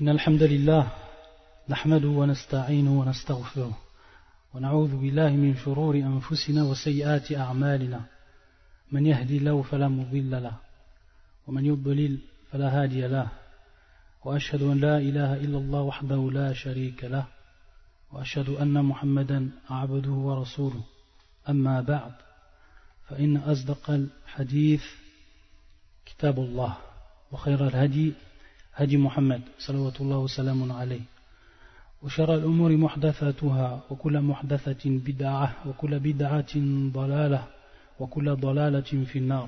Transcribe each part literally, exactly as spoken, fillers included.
إن الحمد لله نحمده ونستعينه ونستغفره ونعوذ بالله من شرور أنفسنا وسيئات أعمالنا من يهدي الله فلا مضل له ومن يضلل فلا هادي له وأشهد أن لا إله إلا الله وحده لا شريك له وأشهد أن محمدا عبده ورسوله أما بعد فإن أصدق الحديث كتاب الله وخير الهدي هدي محمد صلوات الله وسلام عليه وشر الأمور محدثاتها وكل محدثة بدعة وكل بدعة ضلالة وكل ضلالة في النار.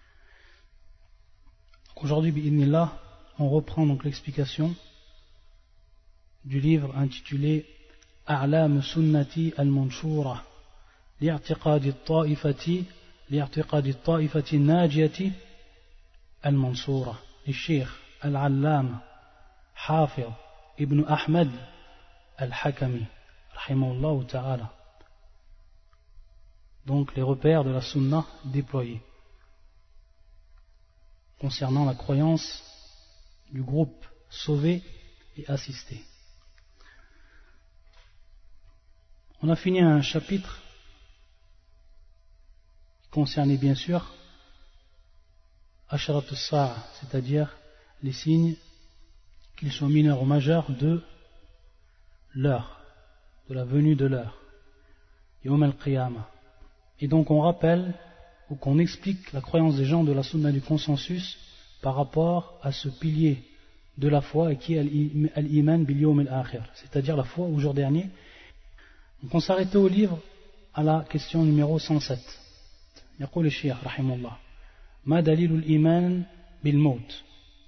Aujourd'hui, bi'idhnillah, on reprend donc l'explication du livre intitulé A'lam Sunnati al-Manshura li'a'tiqadi at-ta'ifati li'a'tiqadi at-ta'ifati an-najiyati al-Mansura للشيخ العلامة حافظ ابن أحمد الحكمي رحمه الله تعالى. Donc les repères de la sunna déployés concernant la croyance du groupe sauvé et assisté. On a fini un chapitre qui concernait bien sûr Asharat as-Sa'a, c'est-à-dire les signes, qu'ils soient mineurs ou majeurs, de l'heure, de la venue de l'heure, Yawm al-Qiyamah. Et donc on rappelle ou qu'on explique la croyance des gens de la sunna du consensus par rapport à ce pilier de la foi et qui est al-Iman bil Yawm al-Akhir, c'est-à-dire la foi au jour dernier. Donc on s'arrêtait au livre à la question numéro cent sept. يقول الشيخ رحمه الله ما دليل الإيمان بالموت.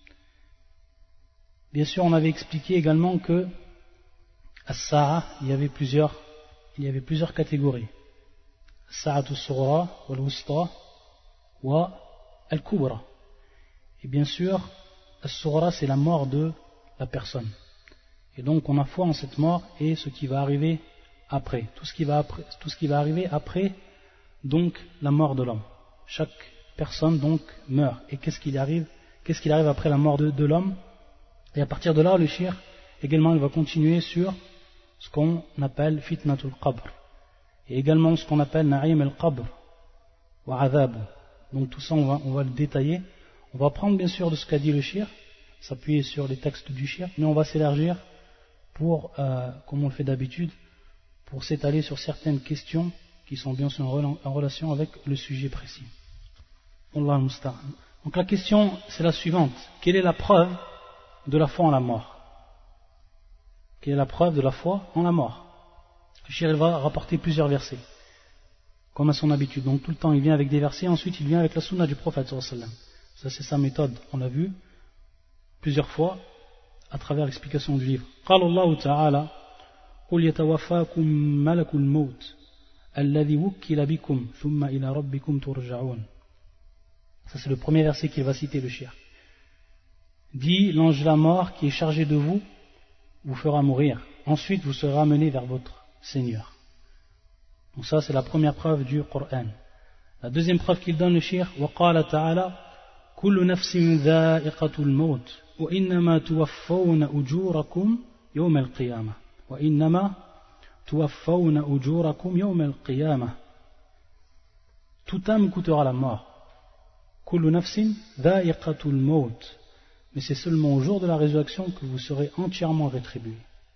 Bien sûr, on avait expliqué également que as-sa'a, il y avait plusieurs, il y avait plusieurs catégories. As-sa'atu as-sughra wal-wusta wa al-kubra. Et bien sûr, as-sughra, c'est la mort de la personne. Et donc, on a foi en cette mort et ce qui va arriver après, tout ce qui va après, tout ce qui va arriver après, donc la mort de l'homme. Chaque personne donc meurt. Et qu'est-ce qu'il arrive, qu'est-ce qu'il arrive après la mort de, de l'homme? Et à partir de là, le shir, également, il va continuer sur ce qu'on appelle fitnatul qabr. Et également ce qu'on appelle na'im al-qabr wa adhab. Donc tout ça, on va, on va le détailler. On va prendre bien sûr de ce qu'a dit le shir, s'appuyer sur les textes du shir, mais on va s'élargir pour, euh, comme on le fait d'habitude, pour s'étaler sur certaines questions qui sont bien sûr en relation avec le sujet précis. Allah al-Musta'an. Donc la question, c'est la suivante. Quelle est la preuve de la foi en la mort? Quelle est la preuve de la foi en la mort? Le shir va rapporter plusieurs versets, comme à son habitude. Donc tout le temps il vient avec des versets, ensuite il vient avec la sunna du prophète sallallahu alayhi wa sallam. Ça c'est sa méthode, on l'a vu plusieurs fois à travers l'explication du livre. قال الله تعالى قل يتوفاكم ملك الموت الذي وكل بكم ثم إلى ربكم ترجعون. Ça c'est le premier verset qu'il va citer le shir. Dit, l'ange de la mort qui est chargé de vous vous fera mourir. Ensuite, vous serez ramené vers votre Seigneur. Donc ça, c'est la première preuve du Coran. La deuxième preuve qu'il donne le shir, وَقَالَ تَعَالَى كُلُّ نَفْسٍ ذَائِقَةُ الْمَوْتِ وَإِنَّمَا تُوَفَّوْنَ أُجُورَكُمْ يَوْمَ الْقِيَامَةِ وَإِنَّمَا تُوَفَّوْنَ أُجُورَكُمْ يَوْمَ الْقِيَامَةِ. Toute âme coûtera la mort. كُلُّ نَفْسٍ ذَائِقَةُ الْمَوْتِ. Mais c'est seulement au jour de la résurrection que vous serez entièrement rétribués.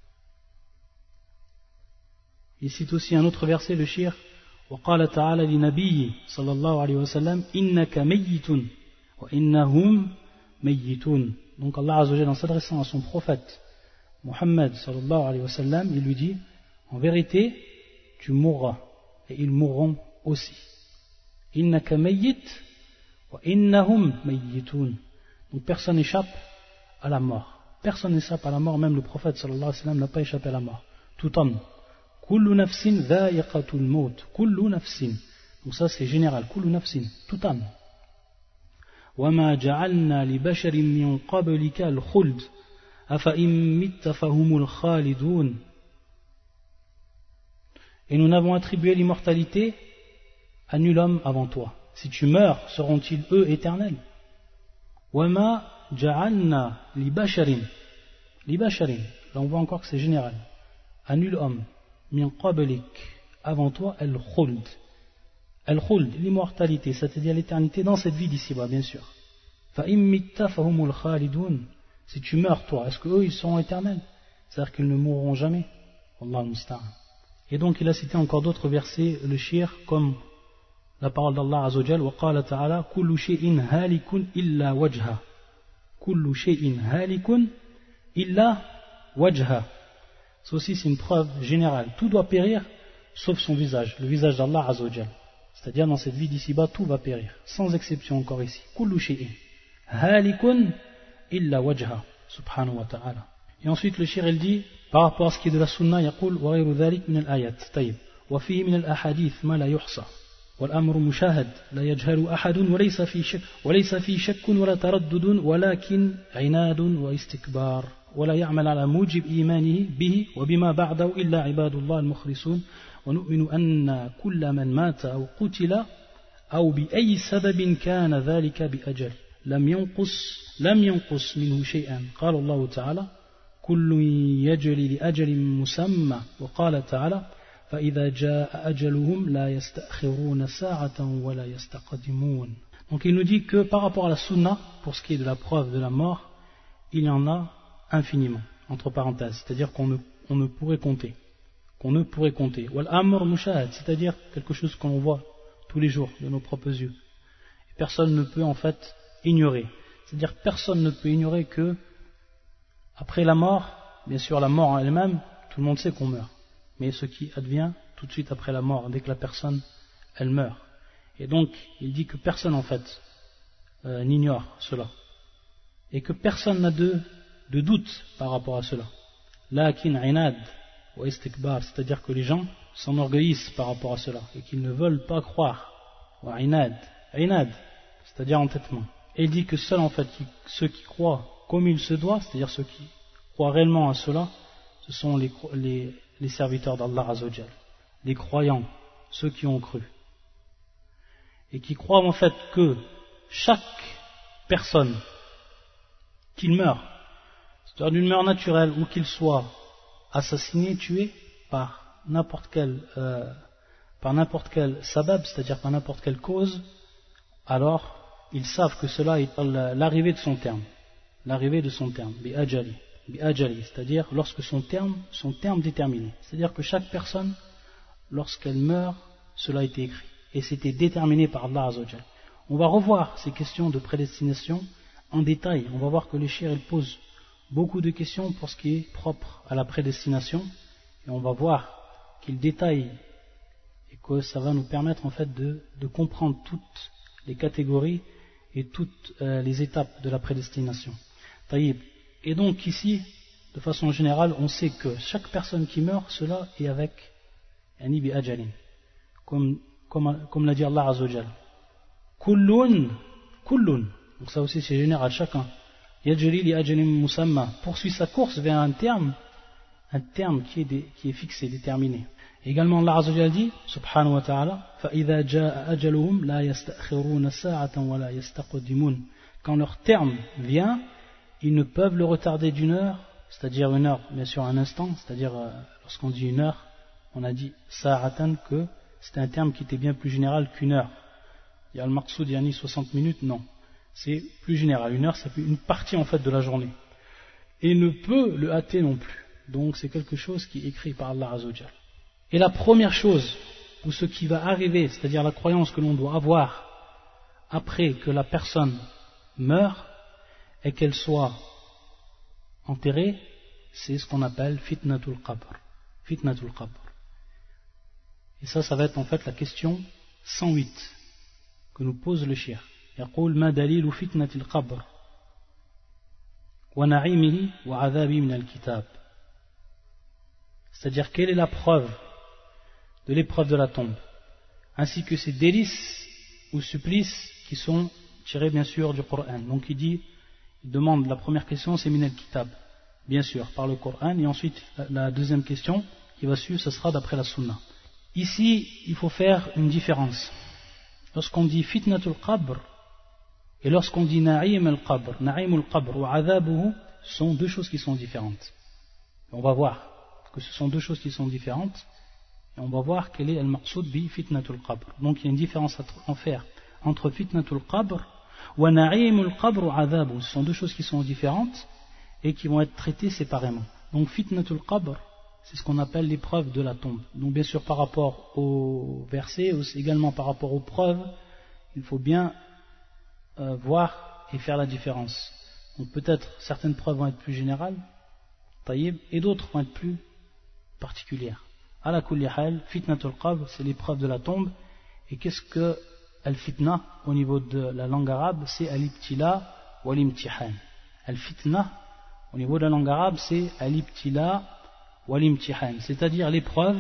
Il cite aussi un autre verset, le shir, وَقَالَ تَعَالَى لِنَبِيِّ صلى الله عليه وسلم إِنَّكَ مَيِّتٌ وَإِنَّهُمْ مَيِّتُونَ. Donc Allah Azza wa Jalla, en s'adressant à son prophète Muhammad sallallahu alayhi wa sallam, il lui dit, en vérité, tu mourras, et ils mourront aussi. إِنَّكَ مَيِّتٌ وَإِنَّهُمْ مَيِّتُونَ. Donc personne n'échappe à la mort. Personne n'échappe à la mort, même le prophète sallallahu alayhi wa sallam n'a pas échappé à la mort. Tout homme. Kullu nafsin dha'iqatul maut. Kullu nafsin. Donc ça c'est général. Kullu nafsin. Tout homme. Wa ma ja'alna li basharin min qablika al-khuld. Afa in mitta fahumul khalidun. Et nous n'avons attribué l'immortalité à nul homme avant toi. Si tu meurs, seront-ils eux éternels? وَمَا جَعَلْنَا لِبَشَرٍ li basharin, là on voit encore que c'est général, à nul homme, min qablik, avant toi, al-khuld. Al-khuld, l'immortalité, c'est-à-dire l'éternité dans cette vie d'ici-bas, bien sûr. Fa immitta fahumul khalidun, si tu meurs toi, est-ce qu'eux ils seront éternels? C'est-à-dire qu'ils ne mourront jamais. Wallahu musta'an. Et donc il a cité encore d'autres versets, le shir, comme la parole d'Allah Azza wa Jal, wa qala ta'ala, kullu shay'in halikun illa wajha. Kullu shay'in halikun illa wajha. Ça aussi c'est une preuve générale. Tout doit périr sauf son visage, le visage d'Allah Azza wa Jal. C'est-à-dire dans cette vie d'ici-bas, tout va périr, sans exception encore ici. Kullu shay'in halikun illa wajha, subhanahu wa ta'ala. Et ensuite le shir il dit, par rapport à ce qui est de la sunna, يقول وغير ذلك من الآيات. طيب. وفيه من الأحاديث ما لا يحصى. والأمر مشاهد لا يجهل أحد وليس في شك وليس في شك ولا تردد ولكن عناد واستكبار ولا يعمل على موجب إيمانه به وبما بعده إلا عباد الله المخلصون ونؤمن أن كل من مات أو قتل أو بأي سبب كان ذلك بأجل لم ينقص لم ينقص منه شيئا قال الله تعالى كل يجري لأجل مسمى وقال تعالى فإذا جاء أجلهم لا يستأخرون ساعة ولا يستقدمون. Donc il nous dit que par rapport à la sunna, pour ce qui est de la preuve de la mort, il y en a infiniment, entre parenthèses, c'est-à-dire qu'on ne, on ne pourrait compter, qu'on ne pourrait compter. Wal amr mushahad, c'est-à-dire quelque chose qu'on voit tous les jours de nos propres yeux. Et personne ne peut en fait ignorer, c'est-à-dire personne ne peut ignorer que après la mort, bien sûr la mort en elle-même, tout le monde sait qu'on meurt. Mais ce qui advient tout de suite après la mort, dès que la personne, elle meurt. Et donc, il dit que personne en fait euh, n'ignore cela. Et que personne n'a de, de doute par rapport à cela. Lakin inad wa istikbar, c'est-à-dire que les gens s'enorgueillissent par rapport à cela et qu'ils ne veulent pas croire. Wa inad, inad, c'est-à-dire entêtement. Et il dit que seuls en fait qui, ceux qui croient comme il se doit, c'est-à-dire ceux qui croient réellement à cela, ce sont les, les, les serviteurs d'Allah Azza wa Jal, les croyants, ceux qui ont cru. Et qui croient en fait que chaque personne qu'il meurt, c'est-à-dire d'une mort naturelle ou qu'il soit assassiné, tué par n'importe quel, euh, par n'importe quel sabab, c'est-à-dire par n'importe quelle cause, alors ils savent que cela est l'arrivée de son terme. L'arrivée de son terme, bi'ajali, bi'ajali, c'est-à-dire lorsque son terme, son terme déterminé. C'est-à-dire que chaque personne, lorsqu'elle meurt, cela a été écrit. Et c'était déterminé par Allah Azza wa Jal. On va revoir ces questions de prédestination en détail. On va voir que les shir, ils posent beaucoup de questions pour ce qui est propre à la prédestination. Et on va voir qu'ils détaillent et que ça va nous permettre en fait de, de comprendre toutes les catégories et toutes euh, les étapes de la prédestination. Et donc ici, de façon générale, on sait que chaque personne qui meurt, cela est avec yani bi ajalin, comme, comme, comme l'a dit Allah Azza wa Jal. Kullun, kullun, donc ça aussi c'est général, chacun. Yajri li ajalin musamma, poursuit sa course vers un terme, un terme qui est, dé, qui est fixé, déterminé. Et également Allah Azza wa Jal dit, subhanahu wa ta'ala, فَإِذَا جَاءَ أَجَلُهُمْ لَا يَسْتَأْخِرُونَ سَاعَةً وَلَا يَسْتَقْدِمُونَ. Quand leur terme vient, ils ne peuvent le retarder d'une heure, c'est-à-dire une heure, bien sûr un instant, c'est-à-dire euh, lorsqu'on dit une heure, on a dit sa'atan que c'était un terme qui était bien plus général qu'une heure. Il y a le maqsoud, il y a ni soixante minutes, non. C'est plus général. Une heure, c'est une partie en fait de la journée. Et ne peut le hâter non plus. Donc c'est quelque chose qui est écrit par Allah Azza wa Jal. Et la première chose, ou ce qui va arriver, c'est-à-dire la croyance que l'on doit avoir après que la personne meurt, et qu'elle soit enterrée, c'est ce qu'on appelle fitnatul qabr. Fitnatul qabr. Et ça, ça va être en fait la question cent huit que nous pose le shir. يقول ما دليل فتنة القبر ونعيمه وعذابه من الكتاب. C'est-à-dire quelle est la preuve de l'épreuve de la tombe, ainsi que ses délices ou supplices qui sont tirés bien sûr du Coran. Donc il dit, il demande, la première question c'est min al-kitab, bien sûr, par le Coran, et ensuite la, la deuxième question qui va suivre, ce sera d'après la sunna. Ici, il faut faire une différence. Lorsqu'on dit fitnatul qabr, et lorsqu'on dit na'im al-qabr, na'im al-qabr, ou adhabuhu, sont deux choses qui sont différentes. On va voir que ce sont deux choses qui sont différentes, et on va voir quel est al-maqsoud bi fitnatul qabr. Donc il y a une différence à faire entre fitnatul qabr wa na'imul qabr wa adhabu. Ce sont deux choses qui sont différentes et qui vont être traitées séparément. Donc fitnatul qabr, c'est ce qu'on appelle l'épreuve de la tombe. Donc bien sûr par rapport au verset, aussi également par rapport aux preuves, il faut bien euh, voir et faire la différence. Donc peut-être certaines preuves vont être plus générales, taïb, et d'autres vont être plus particulières. Ala kulli hal, fitnatul qabr, c'est l'épreuve de la tombe. Et qu'est-ce que al-fitna au niveau de la langue arabe? C'est al-ibtila wa al-imtihan. Al-fitna au niveau de la langue arabe, c'est al-ibtila wa al-imtihan, c'est-à-dire l'épreuve,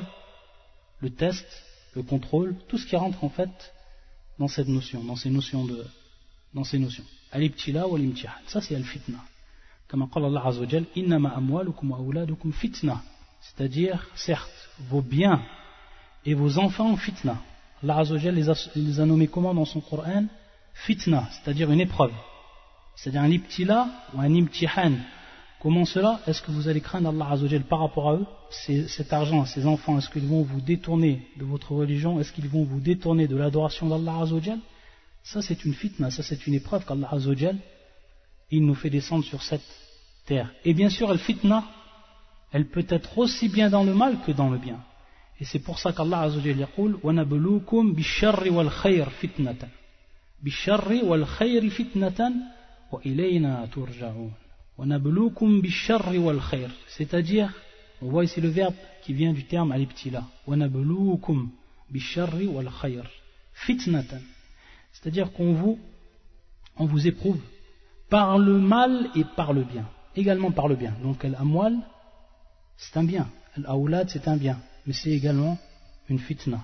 le test, le contrôle, tout ce qui rentre en fait dans cette notion, dans ces notions de, dans ces notions. Al-ibtila wa al-imtihan, ça c'est al-fitna. Comme qala Allah azza wa jal, innama amwalukum wa auladukum fitna, c'est-à-dire certes vos biens et vos enfants fitna. Allah azza wa jal les a, les a nommés comment dans son Coran? Fitna, c'est-à-dire une épreuve, c'est-à-dire un ibtila ou un imtihan. Comment cela? Est-ce que vous allez craindre Allah azza wa jal par rapport à eux? C'est, cet argent, ces enfants, est-ce qu'ils vont vous détourner de votre religion? Est-ce qu'ils vont vous détourner de l'adoration d'Allah azza wa jal? Ça c'est une fitna, ça c'est une épreuve qu'Allah azza wa jal il nous fait descendre sur cette terre. Et bien sûr, la fitna, elle peut être aussi bien dans le mal que dans le bien. Et c'est pour ça qu'Allah azza wa jal yaqul وَنَبْلُوكُمْ بِالشَّرِّ وَالْخَيْرِ فِتْنَةً بِالشَّرِّ وَالْخَيْرِ فِتْنَةً وَإِلَيْنَا تُرْجَعُونَ وَنَبْلُوكُمْ بِالشَّرِّ وَالْخَيْرِ, c'est-à-dire, on voit ici le verbe qui vient du terme al-ibtila, وَنَبْلُوكُمْ بِالشَّرِّ وَالْخَيْرِ فِتْنَةً, c'est-à-dire qu'on vous, on vous éprouve par le mal et par le bien, également par le bien. Donc al-amwal, c'est un bien, al-awlad, c'est un bien, mais c'est également une fitna.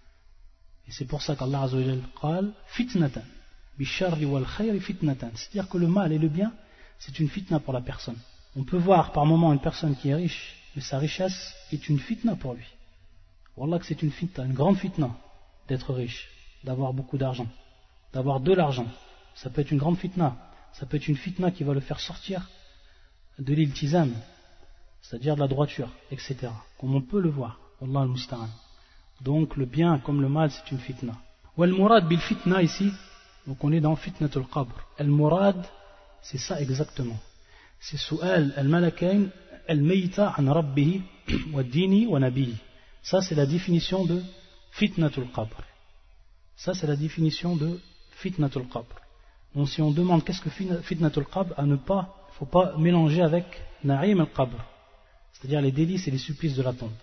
Et c'est pour ça qu'Allah azza wa jal qal fitnatan bisharri wal khayri fitnatan, c'est-à-dire que le mal et le bien, c'est une fitna pour la personne. On peut voir par moment une personne qui est riche, mais sa richesse est une fitna pour lui. Wallah que c'est une fitna, une grande fitna d'être riche, d'avoir beaucoup d'argent, d'avoir de l'argent. Ça peut être une grande fitna. Ça peut être une fitna qui va le faire sortir de l'iltizam, c'est-à-dire de la droiture, et cetera. Comme on peut le voir. Wallah al-musta'an. Donc le bien comme le mal, c'est une fitna. Wal murad bil fitna ici, donc on est dans fitnatul qabr. Al murad, c'est ça exactement. C'est su'al al-malakain al-mayta an rabbihi wa dini wa nabihi. Ça c'est la définition de fitnatul qabr. Ça c'est la définition de fitnatul qabr. Donc si on demande qu'est-ce que fitnatul qabr, à ne pas, il ne faut pas mélanger avec na'im al-qabr, c'est-à-dire les délices et les supplices de la tombe.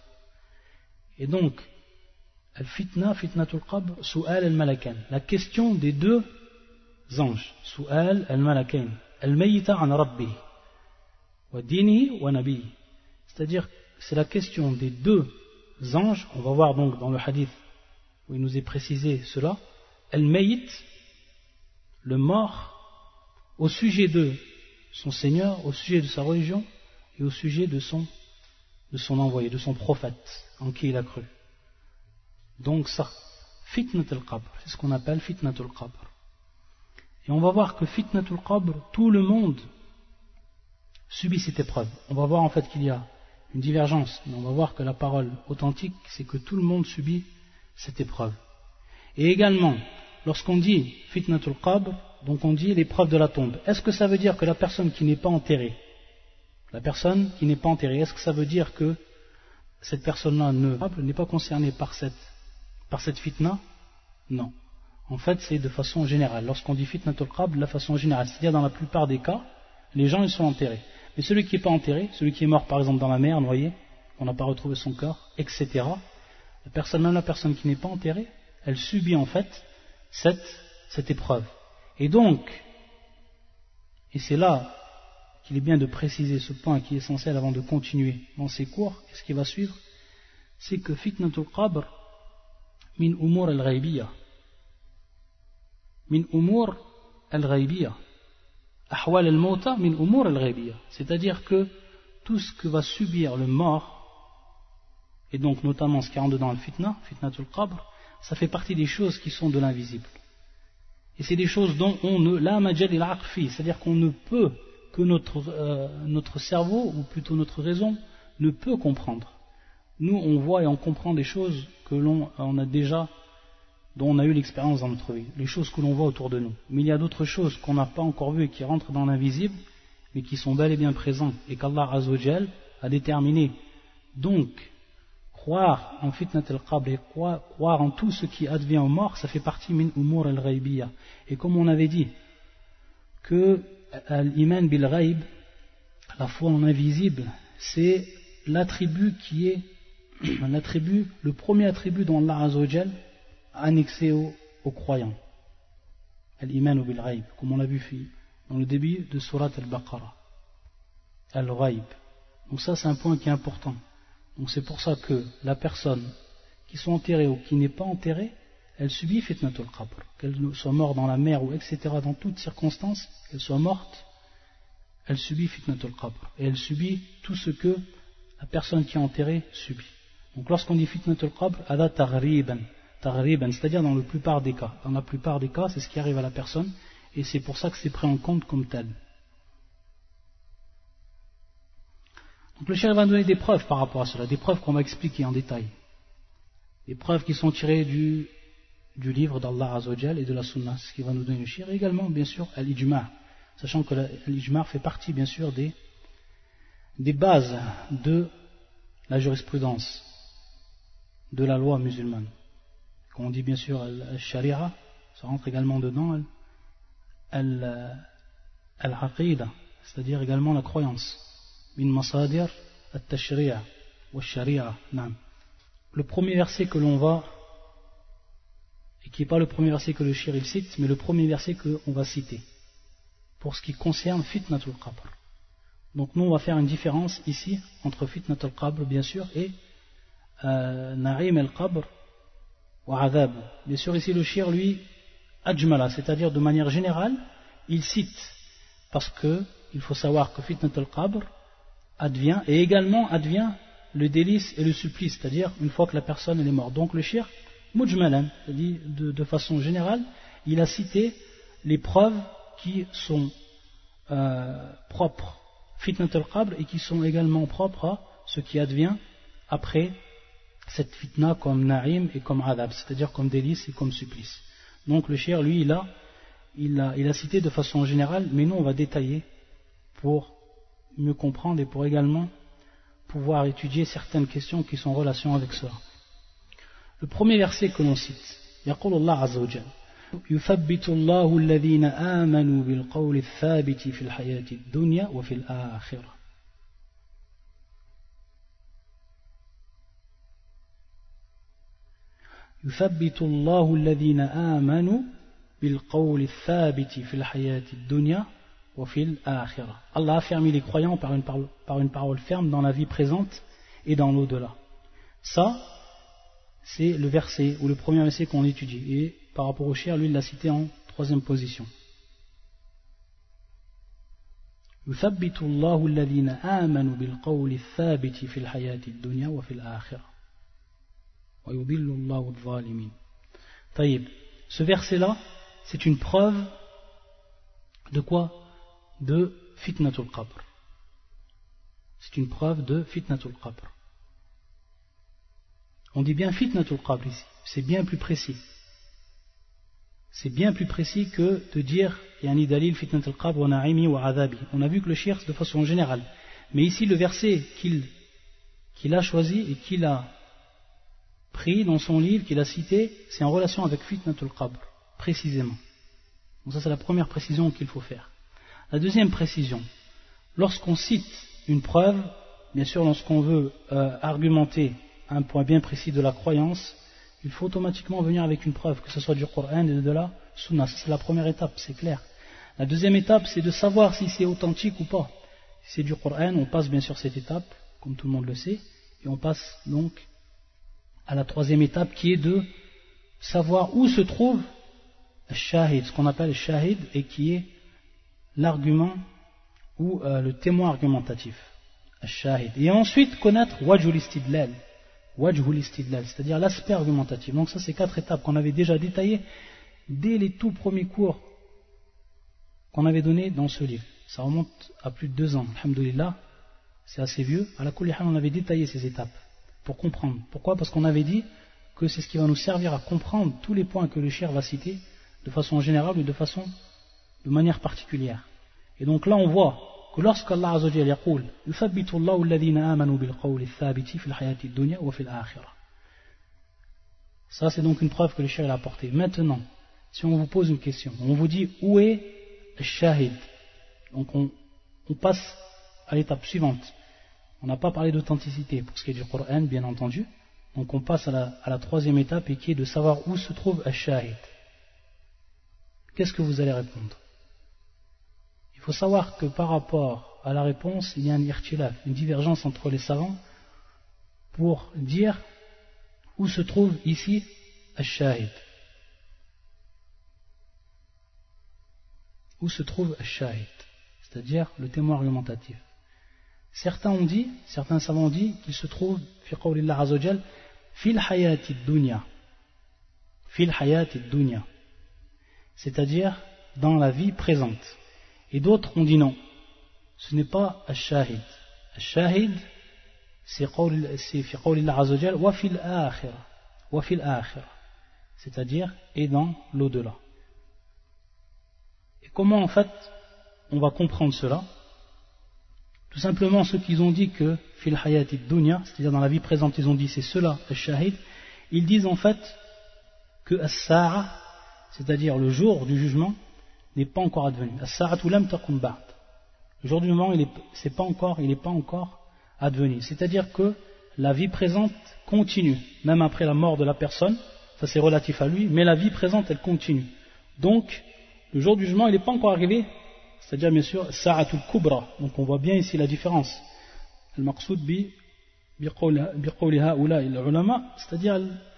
Et donc, al-fitna, fitnatul qabr, su'al al-malakain, la question des deux anges, su'al al-malakain, al-mayta an rabbi, wa dini wa nabi, c'est-à-dire c'est la question des deux anges, on va voir donc dans le hadith où il nous est précisé cela, al-mayt, le mort, au sujet de son Seigneur, au sujet de sa religion et au sujet de son, de son envoyé, de son prophète en qui il a cru. Donc ça, fitnatul qabr, c'est ce qu'on appelle fitnatul qabr. Et on va voir que fitnatul qabr, tout le monde subit cette épreuve. On va voir en fait qu'il y a une divergence, mais on va voir que la parole authentique, c'est que tout le monde subit cette épreuve. Et également, lorsqu'on dit fitnatul qabr, donc on dit l'épreuve de la tombe, est-ce que ça veut dire que la personne qui n'est pas enterrée, la personne qui n'est pas enterrée, est-ce que ça veut dire que cette personne-là ne, n'est pas concernée par cette, par cette fitna? Non. En fait, c'est de façon générale. Lorsqu'on dit fitnatul qabr, de façon générale, c'est-à-dire dans la plupart des cas, les gens ils sont enterrés. Mais celui qui n'est pas enterré, celui qui est mort par exemple dans la mer, noyé, on n'a pas retrouvé son corps, et cetera. La personne, même la personne qui n'est pas enterrée, elle subit en fait cette, cette épreuve. Et donc, et c'est là qu'il est bien de préciser ce point qui est essentiel avant de continuer dans ces cours, et ce qui va suivre, c'est que fitnatul qabr min umur al-ghaybiyya, min umur al-ghaybiyya, ahwal al-mawta min umur al-ghaybiyya, c'est-à-dire que tout ce que va subir le mort, et donc notamment ce qui rentre dans le fitna, fitnatul qabr, ça fait partie des choses qui sont de l'invisible. Et c'est des choses dont on ne, la majal il aqfi, c'est-à-dire qu'on ne peut que notre, euh, notre cerveau, ou plutôt notre raison, ne peut comprendre. Nous, on voit et on comprend des choses que l'on on a déjà, dont on a eu l'expérience dans notre vie, les choses que l'on voit autour de nous. Mais il y a d'autres choses qu'on n'a pas encore vues et qui rentrent dans l'invisible, mais qui sont bel et bien présentes, et qu'Allah Azza wa Jal a déterminé. Donc, croire en fitnat al-qabr et croire, croire en tout ce qui advient aux morts, ça fait partie min umur al-ghaybiyya. Et comme on avait dit, que l'iman bil ghaib, la foi en invisible, c'est l'attribut qui est l'attribut, le premier attribut dont Allah Azza wa Jal a annexé aux, aux croyants. Al-iman bil ghaib, comme on l'a vu dans le début de Surat al-Baqarah. Al-ghaib. Donc ça c'est un point qui est important. Donc c'est pour ça que la personne qui soit enterrée ou qui n'est pas enterrée, elle subit fitnatul qabr, qu'elle soit morte dans la mer ou et cetera, dans toutes circonstances, qu'elle soit morte, elle subit fitnatul qabr, et elle subit tout ce que la personne qui est enterrée subit. Donc lorsqu'on dit fitnatul qabr, ada taghriban, taghriban, c'est-à-dire dans la plupart des cas. Dans la plupart des cas, c'est ce qui arrive à la personne, et c'est pour ça que c'est pris en compte comme tel. Donc le cheikh va donner des preuves par rapport à cela, des preuves qu'on va expliquer en détail. Des preuves qui sont tirées du, du livre d'Allah Azza wa Jal et de la Sunna, ce qui va nous donner le cheikh, et également bien sûr al-ijma', sachant que l'ijma' fait partie bien sûr des, des bases de la jurisprudence, de la loi musulmane. Quand on dit bien sûr al-sharia, ça rentre également dedans al-aqida, c'est-à-dire également la croyance. Min masadir at-tashri'a wa sharia. Le premier verset que l'on va, et qui n'est pas le premier verset que le shir il cite, mais le premier verset qu'on va citer, pour ce qui concerne fitnatul qabr. Donc nous on va faire une différence ici entre fitnatul qabr bien sûr et euh, na'im al-qabr wa adhab. Bien sûr ici le shir lui ajmala, c'est-à-dire de manière générale, il cite, parce que il faut savoir que fitnatul qabr advient, et également advient le délice et le supplice, c'est-à-dire une fois que la personne elle est morte. Donc le shir, mujmalan, c'est-à-dire de, de façon générale, il a cité les preuves qui sont euh, propres, fitnat al-qabr, et qui sont également propres à ce qui advient après cette fitna comme na'im et comme adab, c'est-à-dire comme délice et comme supplice. Donc le shir, lui, il a, il a, il a cité de façon générale, mais nous on va détailler pour mieux comprendre et pour également pouvoir étudier certaines questions qui sont en relation avec cela. Le premier verset que l'on cite, يقول الله عز وجل يثبت الله الذين آمنوا بالقول الثابت في الحياة الدنيا وفي الآخرة. يثبت الله الذين آمنوا بالقول الثابت في الحياة الدنيا. Allah a affermi les croyants par une, parole, par une parole ferme dans la vie présente et dans l'au-delà. Ça, c'est le verset ou le premier verset qu'on étudie. Et par rapport au shir, lui, il l'a cité en troisième position. يثبت الله الذين آمنوا بالقول الثابت في الحياة الدنيا وفي الآخرة ويضل الله الظالمين. طيب, ce verset-là, c'est une preuve de quoi? De fitnatul qabr. C'est une preuve de fitnatul qabr. On dit bien fitnatul qabr ici, c'est bien plus précis. C'est bien plus précis que de dire yani dalil fitnatul qabr wa na'imi wa adhabi. On a vu que le shir c'est de façon générale. Mais ici le verset qu'il qu'il a choisi et qu'il a pris dans son livre, qu'il a cité, c'est en relation avec fitnatul qabr, précisément. Donc ça c'est la première précision qu'il faut faire. La deuxième précision, lorsqu'on cite une preuve, bien sûr lorsqu'on veut euh, argumenter un point bien précis de la croyance, il faut automatiquement venir avec une preuve, que ce soit du Coran et de la Sunna. C'est la première étape, c'est clair. La deuxième étape, c'est de savoir si c'est authentique ou pas. Si c'est du Coran, on passe bien sûr cette étape, comme tout le monde le sait, et on passe donc à la troisième étape qui est de savoir où se trouve le shahid, ce qu'on appelle le shahid, et qui est l'argument ou euh, le témoin argumentatif, al-shahid. Et ensuite connaître wajhul istidlal, wajhul istidlal, c'est-à-dire l'aspect argumentatif. Donc ça c'est quatre étapes qu'on avait déjà détaillées dès les tout premiers cours qu'on avait donnés dans ce livre. ça remonte à plus de deux ans, alhamdoulilah, c'est assez vieux. À la kulli hal, on avait détaillé ces étapes pour comprendre. Pourquoi? Parce qu'on avait dit que c'est ce qui va nous servir à comprendre tous les points que le cheikh va citer de façon générale ou de façon, de manière particulière. Et donc là on voit que lorsqu'Allah Azza wa Jalla yaqul yuthabbitu Allahu alladhina amanu bil qawli thabiti fil hayati dunya wa fil akhirah. Ça c'est donc une preuve que le cheikh a apportée. Maintenant, si on vous pose une question, on vous dit où est le shahid? Donc on, on passe à l'étape suivante. On n'a pas parlé d'authenticité pour ce qui est du Coran, bien entendu. Donc on passe à la, à la troisième étape et qui est de savoir où se trouve al-shahid. Qu'est-ce que vous allez répondre? Il faut savoir que par rapport à la réponse, il y a un irtilaf, une divergence entre les savants pour dire où se trouve ici al-shahid. Où se trouve al-shahid, c'est-à-dire le témoin argumentatif. Certains ont dit, certains savants ont dit qu'il se trouve fi qawlillah azza wa jal fil hayati dunya, fil hayati dunya, c'est-à-dire dans la vie présente. Et d'autres ont dit non, ce n'est pas al-shahid. Al-shahid, c'est fi qawlillah azza wa jal wa fil akhirah, wa fil akhirah, c'est-à-dire et dans l'au-delà. Et comment en fait on va comprendre cela? Tout simplement, ceux qui ont dit que fil hayati dunya, c'est-à-dire dans la vie présente, ils ont dit c'est cela, al-shahid, ils disent en fait que as-sa'a, c'est-à-dire le jour du jugement, n'est pas encore advenu. As-sa'atu lam taqum ba'd. Le jour du jugement, il n'est pas encore, il n'est pas encore advenu. C'est-à-dire que la vie présente continue, même après la mort de la personne, ça c'est relatif à lui, mais la vie présente, elle continue. Donc, le jour du jugement, il n'est pas encore arrivé. C'est-à-dire bien sûr Sa'atul Kubra, donc on voit bien ici la différence. Al-Maqsoud bi biqawli ha'ula il-ulama, c'est-à-dire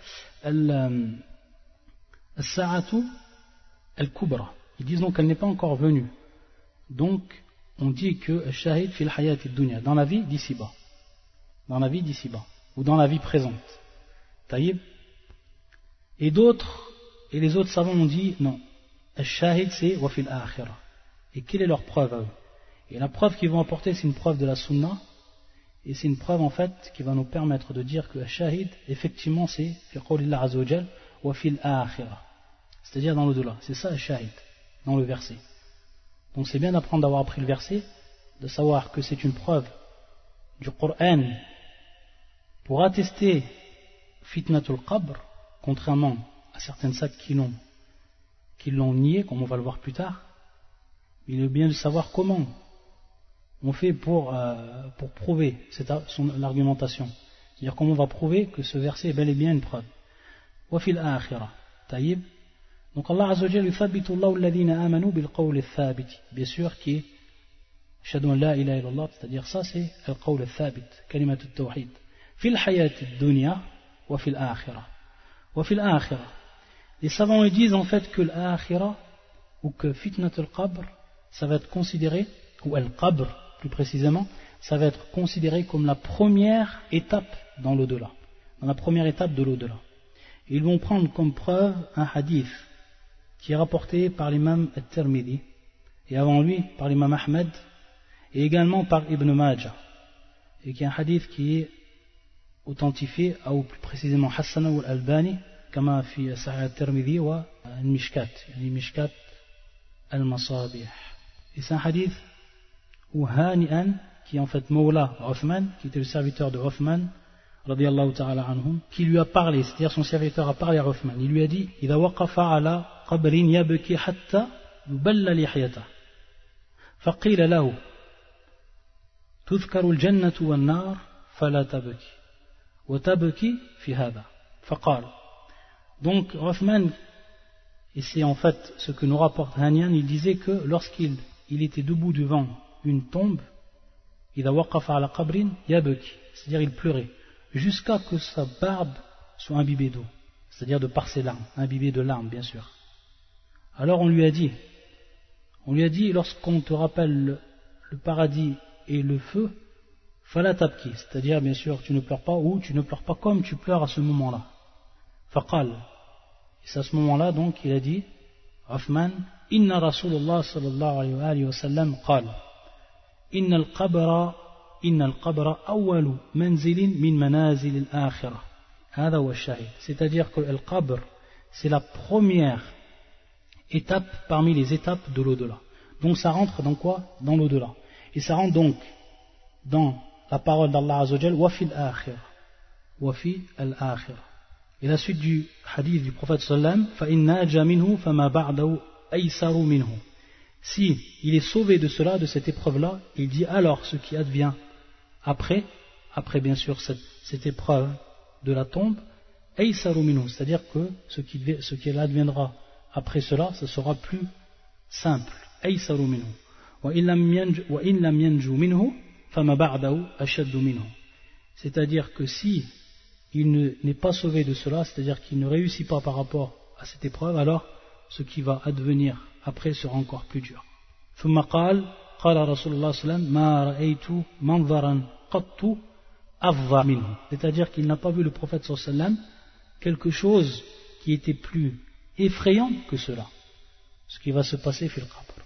Al-Sa'atu al-Kubra. Ils disent donc qu'elle n'est pas encore venue. Donc on dit que Shahid fil hayati dunya, dans la vie d'ici-bas. Dans la vie d'ici-bas, ou dans la vie présente. Taïb. Et d'autres, et les autres savants ont dit non. Al-Shahid c'est wa fil akhirah. Et quelle est leur preuve à eux? Et la preuve qu'ils vont apporter, c'est une preuve de la sunna, et c'est une preuve en fait qui va nous permettre de dire que shahid, effectivement, c'est fi qawlillah azza wa jal wa fil akhirah, c'est-à-dire dans l'au-delà. C'est ça shahid, dans le verset. Donc c'est bien d'apprendre d'avoir appris le verset, de savoir que c'est une preuve du Coran pour attester fitnatul qabr, contrairement à certaines sectes qui l'ont, qui l'ont nié, comme on va le voir plus tard. Il est bien de savoir comment on fait pour, euh, pour prouver cette, son, l'argumentation. C'est-à-dire comment on va prouver que ce verset est bel et bien une preuve. Wa fil akhirah. Taïb. Donc Allah Azza wa Jalla yuthabbitu Allahu alladhina amanu bil qawli thabit. Bien sûr qui est Shahadu an la ilaha illallah, c'est-à-dire ça c'est al qawl thabit, kalimat at-tawhid. Fil hayati dunya wa fil akhirah. Wa fil akhirah. Les savants disent en fait que l'akhirah ou que fitnat al-qabr, ça va être considéré, ou al-qabr plus précisément, ça va être considéré comme la première étape dans l'au-delà, dans la première étape de l'au-delà. Ils vont prendre comme preuve un hadith qui est rapporté par l'imam al-Tirmidhi, et avant lui par l'imam Ahmed, et également par Ibn Majah, et qui est un hadith qui est authentifié, ou plus précisément Hassana ou al-Albani, كما في صحيح الترمذي والمشكات يعني مشكات المصابيح. Et c'est un hadith où Hani'an, qui est en fait Mawla Uthman, qui était le serviteur de Uthman, radiyallahu ta'ala anhum, qui lui a parlé, c'est-à-dire son serviteur a parlé à Uthman. Il lui a dit إذا وقف على قبر يبكي حتى يبل لحيته فقيل له تذكر الجنة والنار فلا تبكي وتبكي في هذا فقال. Donc Uthman, et c'est en fait ce que nous rapporte Hanian, il disait que lorsqu'il il était debout devant une tombe, إذا وقف على قبر يبكي, c'est-à-dire il pleurait, jusqu'à que sa barbe soit imbibée d'eau, c'est-à-dire de par ses larmes, imbibée de larmes bien sûr. Alors on lui a dit, on lui a dit lorsqu'on te rappelle le, le paradis et le feu, fala tabki, c'est-à-dire bien sûr tu ne pleures pas ou tu ne pleures pas comme tu pleures à ce moment-là. Faqal, et c'est à ce moment-là donc il a dit, Uthman, inna Rasulullah sallallahu alayhi wa sallam qala, إن القبر إن القبر أول منزل من منازل الآخرة هذا هو الشاهد. C'est-à-dire que le qabr c'est la première étape parmi les étapes de l'au-delà. Donc ça rentre dans quoi? Dans l'au-delà. Et ça rentre donc dans la parole d'Allah Azza wa Jal wa fil akhirah wa fi al-akhirah. Et la suite du hadith du prophète sallam fa in naja minhu fama ba'dahu aysaru minhu. Si il est sauvé de cela, de cette épreuve-là, il dit alors ce qui advient après, après bien sûr cette, cette épreuve de la tombe, aysaru minhu, c'est-à-dire que ce qui, ce qui adviendra après cela, ce sera plus simple. Aysaru minhu. Wa in lam yanju minhu fama ba'dahu ashaddu minhu. C'est-à-dire que si il n'est pas sauvé de cela, c'est-à-dire qu'il ne réussit pas par rapport à cette épreuve, alors ce qui va advenir après sera encore plus dur. ثم قال قال رسول الله صلى الله عليه وسلم ما رأيت منظرا قط أفظع منه. C'est-à-dire qu'il n'a pas vu le prophète صلى الله عليه وسلم quelque chose qui était plus effrayant que cela, ce qui va se passer fil qabr.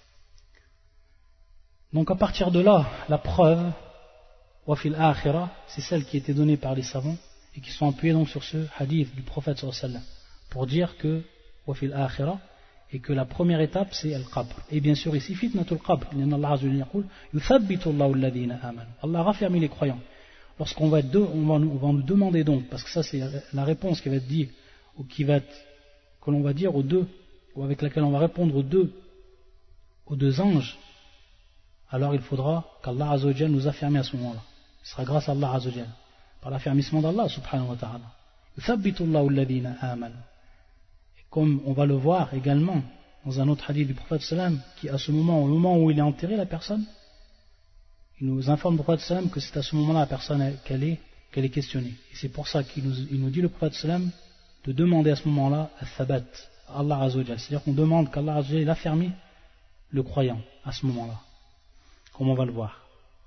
Donc à partir de là, la preuve wa fil akhirah, c'est celle qui était donnée par les savants et qui sont appuyés donc sur ce hadith du prophète sallallahu alayhi wa sallam pour dire que wa fil akhirah, et que la première étape c'est al-qabr. Et bien sûr ici fitnatul qabr, Allah azza wa jalla yaqul yuthabbitu Allahu alladhina amanu. Allah raffermit les croyants. Lorsqu'on va être deux, on va, nous, on va nous demander donc, parce que ça c'est la réponse qui va être dit ou qui va être, que l'on va dire aux deux, ou avec laquelle on va répondre aux deux aux deux anges, alors il faudra qu'Allah azza wa jalla nous afferme à ce moment-là. Ce sera grâce à Allah azza wa jalla, par l'affermissement d'Allah subhanahu wa ta'ala. Yuthabbitu Allahu alladhina amanu. Comme on va le voir également dans un autre hadith du prophète sallam, qui à ce moment, au moment où il est enterré, la personne, il nous informe le prophète sallam que c'est à ce moment-là la personne qu'elle est, qu'elle est questionnée. Et c'est pour ça qu'il nous, il nous dit le prophète sallam de demander à ce moment-là al-thabat, Allah azza wa jalla. C'est-à-dire qu'on demande qu'Allah azza wa jalla affermisse le croyant à ce moment-là, comme on va le voir.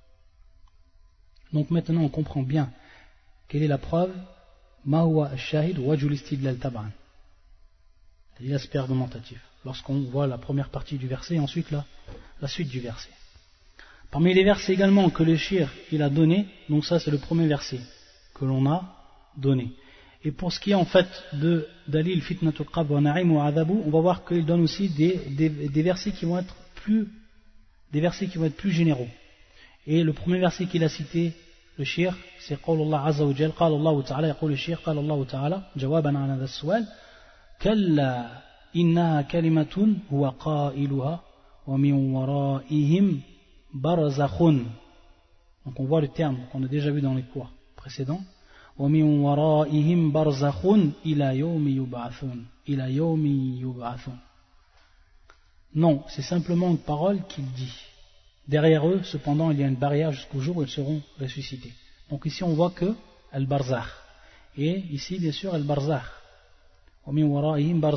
Donc maintenant on comprend bien quelle est la preuve, ma huwa al-shahid wajhul istidlal tab'an. L'aspect argumentatif, lorsqu'on voit la première partie du verset et ensuite la, la suite du verset. Parmi les versets également que le shir il a donné, donc ça c'est le premier verset que l'on a donné. Et pour ce qui est en fait de Dalil fitnatul qabr wa na'im wa adabu, on va voir qu'il donne aussi des, des, des versets qui vont être plus des versets qui vont être plus généraux. Et le premier verset qu'il a cité, le shir, c'est Qawlullah azza wa jalla, qala Allah ta'ala, yaqul le shir, qala Allah ta'ala, jawaban ala hadha as-su'al. كلا إنها كلمة هو قائلها ومن ورائهم برزخ. Donc on voit le terme qu'on a déjà vu dans les cours précédents. ومن ورائهم برزخ إلى يوم يبعثون إلى يوم يبعثون. Non, c'est simplement une parole qu'il dit. Derrière eux, cependant, il y a une barrière jusqu'au jour où ils seront ressuscités. Donc ici on voit que al-barzakh. Et ici bien sûr al-barzakh. Donc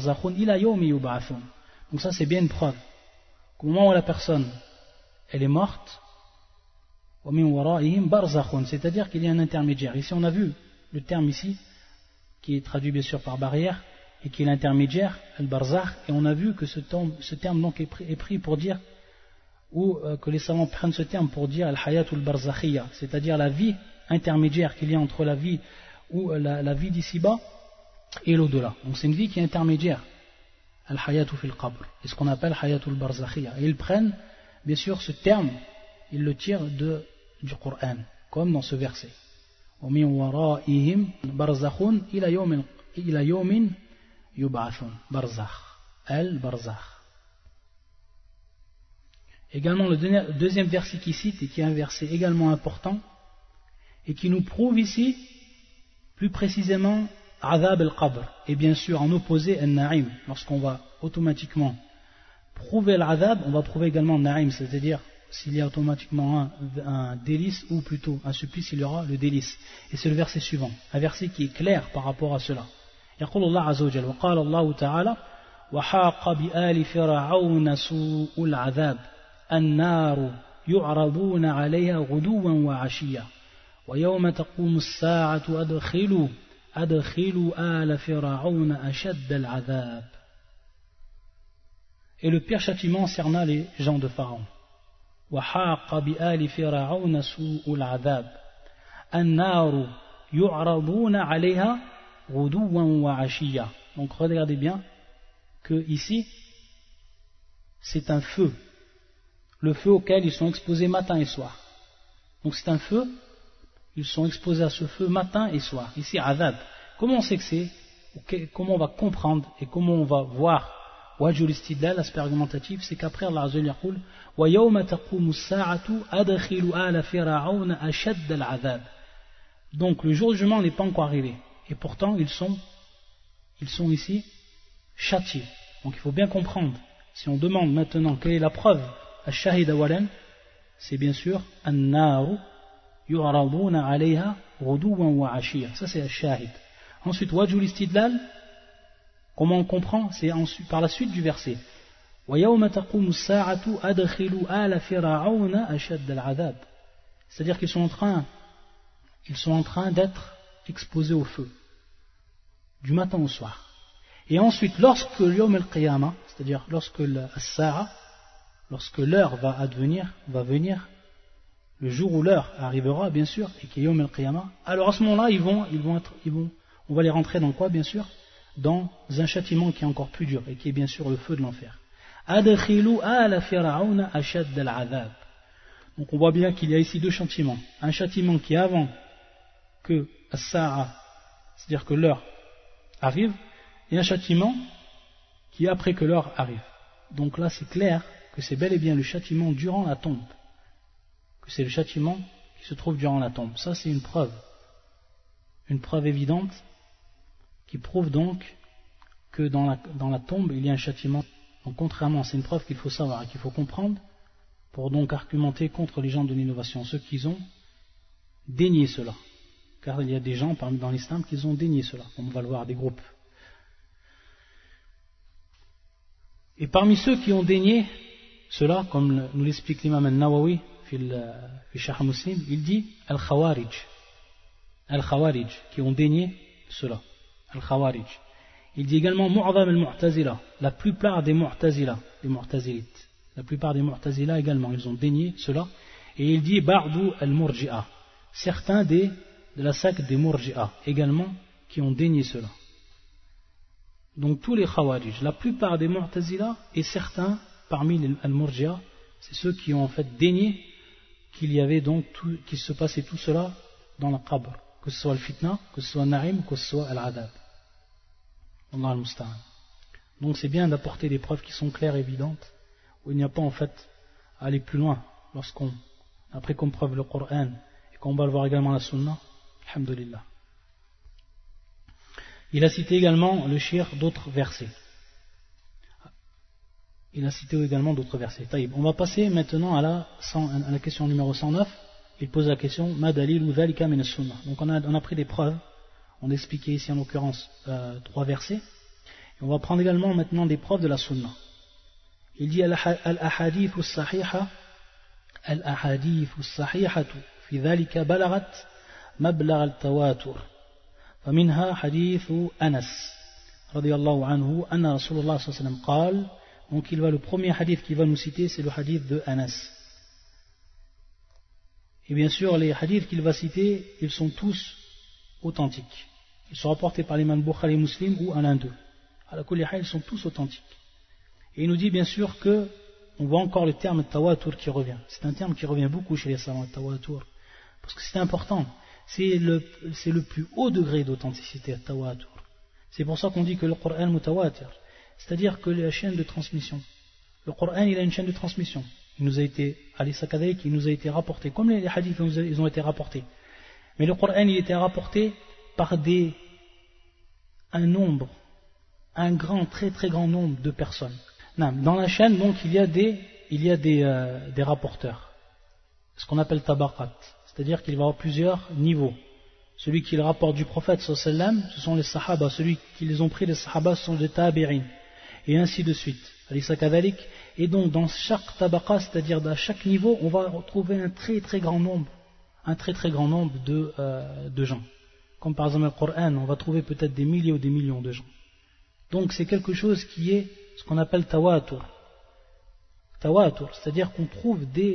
ça c'est bien une preuve qu'au moment où la personne elle est morte, c'est-à-dire qu'il y a un intermédiaire. Ici on a vu le terme ici qui est traduit bien sûr par barrière et qui est l'intermédiaire, al-barzakh, et on a vu que ce terme, ce terme donc est pris, est pris pour dire, ou euh, que les savants prennent ce terme pour dire al-hayatul barzakhiyya, c'est-à-dire la vie intermédiaire qu'il y a entre la vie ou la, la vie d'ici-bas et l'au-delà. Donc c'est une vie qui est intermédiaire, al-hayatu fil qabr, et ce qu'on appelle hayatul barzakhiyya. Et ils prennent bien sûr ce terme, ils le tirent de, du Coran, comme dans ce verset. وَمِنْ وَرَائِهِمْ بَرْزَخٌ إِلَى يَوْمٍ يُبْعَثُونَ. Barzakh, al-barzakh. Également le deuxième verset qui cite, et qui est un verset également important, et qui nous prouve ici, plus précisément, Adhab al-Qabr, et bien sûr en opposé al-Na'im. Lorsqu'on va automatiquement prouver l'Adhab, on va prouver également al-Na'im, c'est-à-dire s'il y a automatiquement un, un délice, ou plutôt un supplice, il y aura le délice. Et c'est le verset suivant, un verset qui est clair par rapport à cela. يقول الله عز وجل وقال الله تعالى وحاق بآل فرعون سوء العذاب النار يعرضون عليها غدوا وعشيا ويوم تقوم الساعة أدخلوا أدخلوا آل فرعون أشد العذاب. Et le pire châtiment cerna les gens de Pharaon. وحاق بآل فرعون سوء العذاب النار يعرضون عليها غدوا وعشيا. Donc regardez bien que ici c'est un feu, le feu auquel ils sont exposés matin et soir. Donc c'est un feu, ils sont exposés à ce feu matin et soir. Ici azab. Comment on sait que c'est, comment on va comprendre et comment on va voir wajhul istidlal, l'aspect argumentatif, c'est qu'après Allah Azza wa Jalla yaqul wa yawma taqumu as-sa'atu adkhilu ala fir'auna ashadd al-'adhab. Donc le jour du jugement n'est pas encore arrivé et pourtant ils sont ils sont ici châtiés. Donc il faut bien comprendre, si on demande maintenant quelle est la preuve ash-shahid awalan, c'est bien sûr an-naru yu'raduna 'alayha ghuduwan wa 'ashiyya. Ça c'est ash-shahid. Ensuite wajhul istidlal, comment on comprend? C'est ensuite, par la suite du verset. C'est-à-dire qu'ils sont en train, ils sont en train d'être exposés au feu, du matin au soir. Et ensuite, lorsque l'yawm al-qiyamah, c'est-à-dire lorsque l'as-sa'a, lorsque l'heure va advenir, va venir, le jour où l'heure arrivera, bien sûr, et qu'il y a yawm al-qiyamah, alors à ce moment-là, ils vont, ils vont être, ils vont, on va les rentrer dans quoi, bien sûr? Dans un châtiment qui est encore plus dur et qui est bien sûr le feu de l'enfer. Adkhilu ala fir'auna ashadd al-'adhab. Donc on voit bien qu'il y a ici deux châtiments. Un châtiment qui est avant que as-sa'a, c'est-à-dire que l'heure arrive, et un châtiment qui est après que l'heure arrive. Donc là c'est clair que c'est bel et bien le châtiment durant la tombe. Que c'est le châtiment qui se trouve durant la tombe. Ça c'est une preuve. Une preuve évidente qui prouve donc que dans la, dans la tombe il y a un châtiment. Donc contrairement, c'est une preuve qu'il faut savoir et qu'il faut comprendre pour donc argumenter contre les gens de l'innovation, ceux qui ont dénié cela. Car il y a des gens parmi dans l'islam qui ont dénié cela, on va le voir, des groupes. Et parmi ceux qui ont dénié cela, comme nous l'explique l'imam al-Nawawi fi Sharh Muslim, il dit al-Khawarij, al-Khawarij qui ont dénié cela. Al-Khawarij. Il dit également Mu'adham al-Mu'tazila, la plupart des Mu'tazila, des Mu'tazilites, la plupart des Mu'tazila également, ils ont dénié cela. Et il dit Ba'du al-Murji'a, certains des, de la secte des Murji'a également qui ont dénié cela. Donc tous les Khawarij, la plupart des Mu'tazila et certains parmi les al-Murji'a, c'est ceux qui ont en fait dénié qu'il y avait donc tout, qu'il se passait tout cela dans la qabr, que ce soit le fitna, que ce soit le na'im, que ce soit al-adab. Allah al-Musta'an. Donc c'est bien d'apporter des preuves qui sont claires et évidentes, où il n'y a pas en fait à aller plus loin, lorsqu'on, après qu'on preuve le Coran et qu'on va le voir également la Sunna, alhamdulillah. Il a cité également le shir d'autres versets. Il a cité également d'autres versets. Taïb. On va passer maintenant à la, à la question numéro cent neuf. Il pose la question Ma dalilu dhalika min as-sunnah. Donc on a, on a pris des preuves. On a expliqué ici en l'occurrence euh, trois versets. Et on va prendre également maintenant des preuves de la sunna. Il dit Al-ahadithu as-sahiha Al-ahadithu as-sahihatu fi dhalika balagat mablagh al-tawatur. فمنها حديث أنس رضي الله عنه أن رسول الله صلى الله عليه وسلم قال. Donc il va, le premier hadith qu'il va nous citer, c'est le hadith de Anas. Et bien sûr, les hadiths qu'il va citer, ils sont tous authentiques. Ils sont rapportés par l'imam Bukhari Muslim ou à l'un d'eux. À la kulli hal, ils sont tous authentiques. Et il nous dit bien sûr que, on voit encore le terme tawatur qui revient. C'est un terme qui revient beaucoup chez les savants, tawatur. Parce que c'est important. C'est le, c'est le plus haut degré d'authenticité, tawatur. C'est pour ça qu'on dit que le Coran mutawatir. C'est-à-dire que la chaîne de transmission. Le Coran, il a une chaîne de transmission. Il nous a été, il nous a été rapporté, comme les hadiths, ils ont été rapportés. Mais le Coran, il était rapporté par des, un nombre, un grand, très très grand nombre de personnes. Dans la chaîne, donc, il y a des, il y a des, euh, des rapporteurs. Ce qu'on appelle tabaqat. C'est-à-dire qu'il va y avoir plusieurs niveaux. Celui qui le rapporte du prophète, sallallahu alayhi wa sallam, ce sont les sahaba. Celui qui les ont pris, les sahaba, ce sont les tabi'in. Et ainsi de suite. Et donc, dans chaque tabaqa, c'est-à-dire dans chaque niveau, on va retrouver un très très grand nombre, un très très grand nombre de, euh, de gens. Comme par exemple le Coran, on va trouver peut-être des milliers ou des millions de gens. Donc, c'est quelque chose qui est ce qu'on appelle tawatur. Tawatur, c'est-à-dire qu'on trouve des,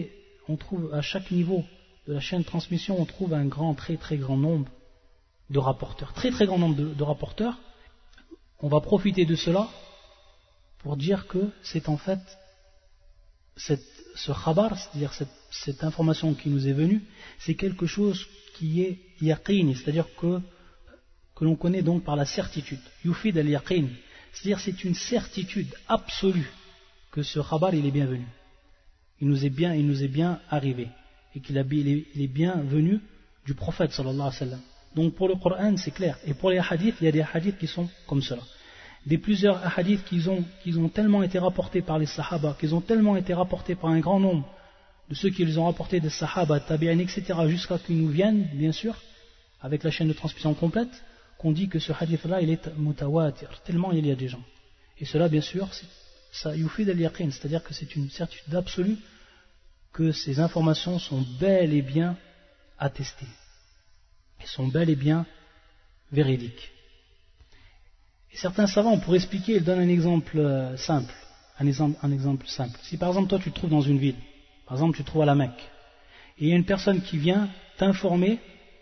on trouve à chaque niveau de la chaîne de transmission, on trouve un grand, très très grand nombre de rapporteurs. Très très grand nombre de, de rapporteurs. On va profiter de cela pour dire que c'est en fait cette, ce khabar, c'est-à-dire cette, cette information qui nous est venue, c'est quelque chose qui est yaqin, c'est-à-dire que, que l'on connaît donc par la certitude. Yufid al-yaqin, c'est-à-dire c'est une certitude absolue que ce khabar il est bienvenu. Il nous est bien, il nous est bien arrivé et qu'il est bien venu du prophète sallallahu alayhi wa sallam. Donc pour le Coran c'est clair, et pour les hadiths il y a des hadiths qui sont comme cela. Des plusieurs hadiths qui ont, qui ont tellement été rapportés par les sahaba, qui ont tellement été rapportés par un grand nombre de ceux qui les ont rapportés des sahaba, tabi'in, et cetera, jusqu'à qu'ils nous viennent, bien sûr, avec la chaîne de transmission complète, qu'on dit que ce hadith-là, il est mutawatir, tellement il y a des gens. Et cela, bien sûr, ça yufid al-yaqin, c'est-à-dire que c'est une certitude absolue que ces informations sont bel et bien attestées, et sont bel et bien véridiques. Et certains savants, pour expliquer, ils donnent un exemple euh, simple. Un exemple, un exemple simple. Si par exemple toi tu te trouves dans une ville, par exemple tu te trouves à la Mecque, et il y a une personne qui vient t'informer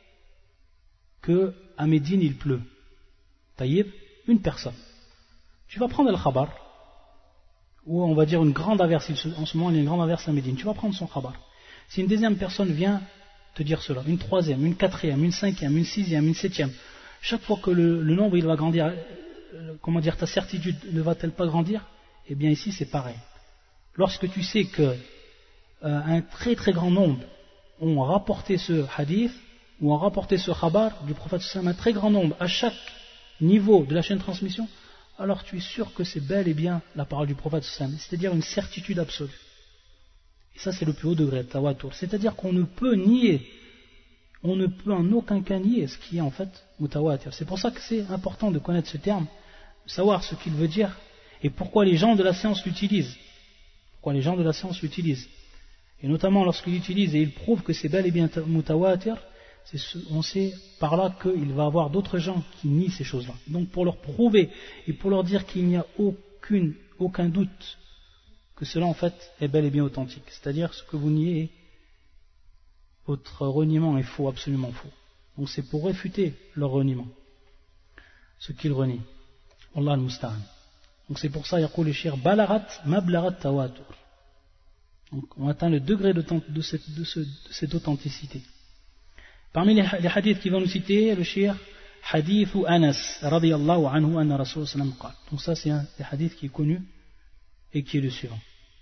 qu'à Médine il pleut. Taïb, une personne. Tu vas prendre le khabar, ou on va dire une grande averse, en ce moment il y a une grande averse à Médine, tu vas prendre son khabar. Si une deuxième personne vient te dire cela, une troisième, une quatrième, une cinquième, une sixième, une septième, chaque fois que le, le nombre il va grandir, comment dire, ta certitude ne va-t-elle pas grandir? Eh bien ici c'est pareil. Lorsque tu sais que euh, un très très grand nombre ont rapporté ce hadith ou ont rapporté ce khabar du prophète sallam, un très grand nombre à chaque niveau de la chaîne de transmission, alors tu es sûr que c'est bel et bien la parole du prophète sallam, c'est-à-dire une certitude absolue. Et ça c'est le plus haut degré, tawatur. C'est-à-dire qu'on ne peut nier, on ne peut en aucun cas nier ce qui est en fait mutawatir. C'est pour ça que c'est important de connaître ce terme, de savoir ce qu'il veut dire et pourquoi les gens de la science l'utilisent. Pourquoi les gens de la science l'utilisent. Et notamment lorsqu'ils l'utilisent et ils prouvent que c'est bel et bien mutawatir, c'est ce, on sait par là qu'il va y avoir d'autres gens qui nient ces choses-là. Donc pour leur prouver et pour leur dire qu'il n'y a aucune, aucun doute que cela en fait est bel et bien authentique. C'est-à-dire ce que vous niez, votre reniement est faux, absolument faux. Donc c'est pour réfuter leur reniement, ce qu'ils renient. Allah al-Musta'an. Donc c'est pour ça, yaqul le shir balarat mablarat tawatur. Donc on atteint le degré de, de, cette, de, ce, de cette authenticité. Parmi les, les hadiths qui vont nous citer, le shir hadithu Anas radiyallahu anhu anna Rasul sallam qala. Donc ça c'est un des hadiths qui est connu et qui est le suivant.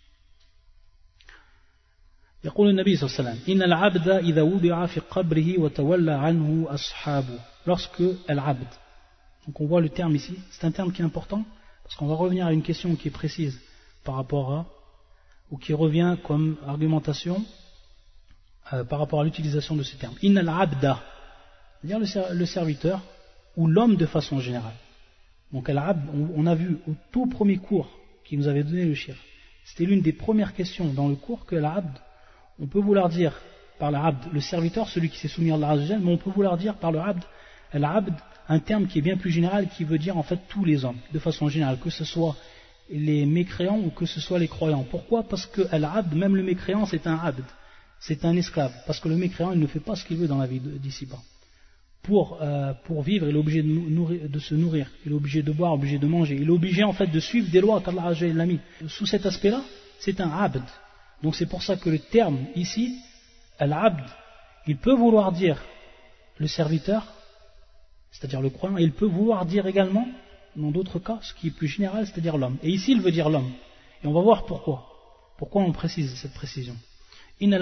يقول النبي صلى الله عليه وسلم إن العبد إذا وضع في قبره وتولى عنه أصحابه. Lorsque al-abd, donc on voit le terme ici, c'est un terme qui est important parce qu'on va revenir à une question qui est précise par rapport à, ou qui revient comme argumentation euh, par rapport à l'utilisation de ce terme. Inna al-abda, c'est-à-dire le serviteur ou l'homme de façon générale. Donc al-abd, on a vu au tout premier cours qui nous avait donné le shir, c'était l'une des premières questions dans le cours que al-abd, on peut vouloir dire par l'abd le serviteur, celui qui s'est soumis à Allah Azza wa Jalla, mais on peut vouloir dire par le abd, al-abd, un terme qui est bien plus général, qui veut dire en fait tous les hommes, de façon générale, que ce soit les mécréants ou que ce soit les croyants. Pourquoi? Parce que al-abd, même le mécréant, c'est un abd, c'est un esclave, parce que le mécréant, il ne fait pas ce qu'il veut dans la vie d'ici-bas. Pour, euh, pour vivre, il est obligé de, nourrir, de se nourrir, il est obligé de boire, obligé de manger, il est obligé en fait de suivre des lois qu'Allah Azza wa Jalla a mis. Sous cet aspect-là, c'est un abd. Donc c'est pour ça que le terme ici, al-abd, il peut vouloir dire le serviteur, c'est-à-dire le croyant, et il peut vouloir dire également, dans d'autres cas, ce qui est plus général, c'est-à-dire l'homme. Et ici, il veut dire l'homme. Et on va voir pourquoi. Pourquoi on précise cette précision. Donc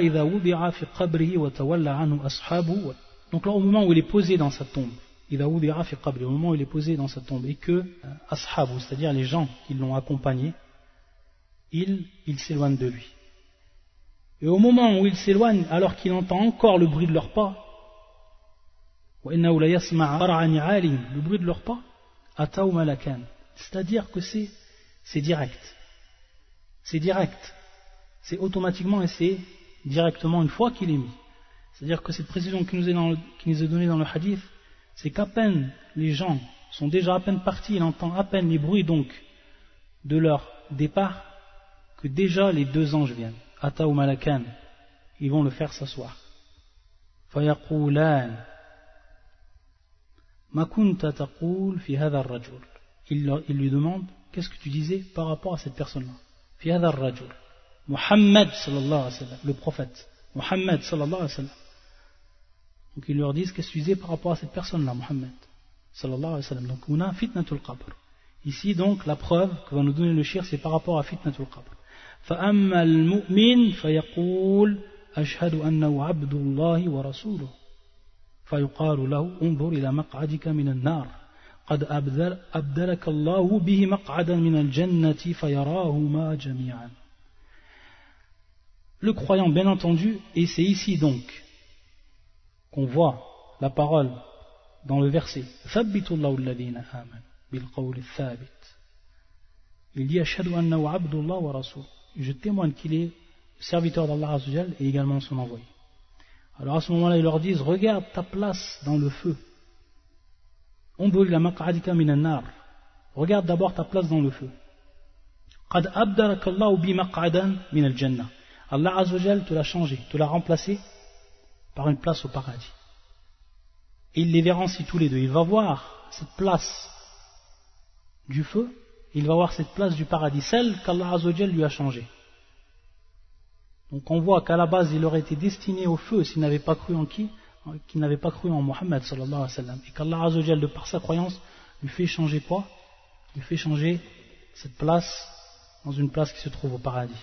là, au moment où il est posé dans sa tombe, au moment où il est posé dans sa tombe, et que ashabu, c'est-à-dire les gens qui l'ont accompagné, il, il s'éloigne de lui. Et au moment où il s'éloigne, alors qu'il entend encore le bruit de leurs pas, le bruit de leurs pas, c'est-à-dire que c'est, c'est direct. C'est direct. C'est automatiquement et c'est directement une fois qu'il est mis. C'est-à-dire que cette précision qui nous est, dans le, qui nous est donnée dans le hadith, c'est qu'à peine les gens sont déjà à peine partis, il entend à peine les bruits donc de leur départ, que déjà les deux anges viennent. Ata ou Malakan, ils vont le faire s'asseoir. فيقولان ما كنت تقول في هذا الرجل. Il lui demande, qu'est-ce que tu disais par rapport à cette personne-là? في هذا الرجل Muhammad sallallahu alayhi wa sallam, le prophète Muhammad sallallahu alayhi wa sallam. Donc ils leur disent, qu'est-ce que tu disais par rapport à cette personne-là, Muhammad sallallahu alayhi wa sallam. Donc on a fitnatul qabr. Ici donc la preuve que va nous donner le shir, c'est par rapport à fitnatul qabr. فأما المؤمن فيقول أشهد أنه عبد الله ورسوله فيقال له انظر إلى مقعدك من النار قد أبدل أبدلك الله به مقعدا من الجنة فيراهما جميعا. Le croyant, bien entendu, et c'est ici donc qu'on voit la parole dans le verset ثبت الله الذين آمنوا بالقول الثابت. Il dit أشهد أنه عبد الله ورسوله. Je témoigne qu'il est serviteur d'Allah Azza wa Jal et également son envoyé. Alors à ce moment-là, ils leur disent, regarde ta place dans le feu. Unzur ila maq'adika minan nar. Regarde d'abord ta place dans le feu. Qad abdalaka Allahu bi maq'adan min al-jannah. Allah Azza wa Jal te l'a changé, te l'a remplacé par une place au paradis. Et il les verra ainsi tous les deux. Il va voir cette place du feu, il va voir cette place du paradis, celle qu'Allah Azza wa Jal lui a changée. Donc on voit qu'à la base il aurait été destiné au feu s'il n'avait pas cru en qui, qu'il n'avait pas cru en Mohammed sallallahu alayhi wa sallam, et qu'Allah Azza wa Jal, de par sa croyance, lui fait changer quoi? Lui fait changer cette place dans une place qui se trouve au paradis.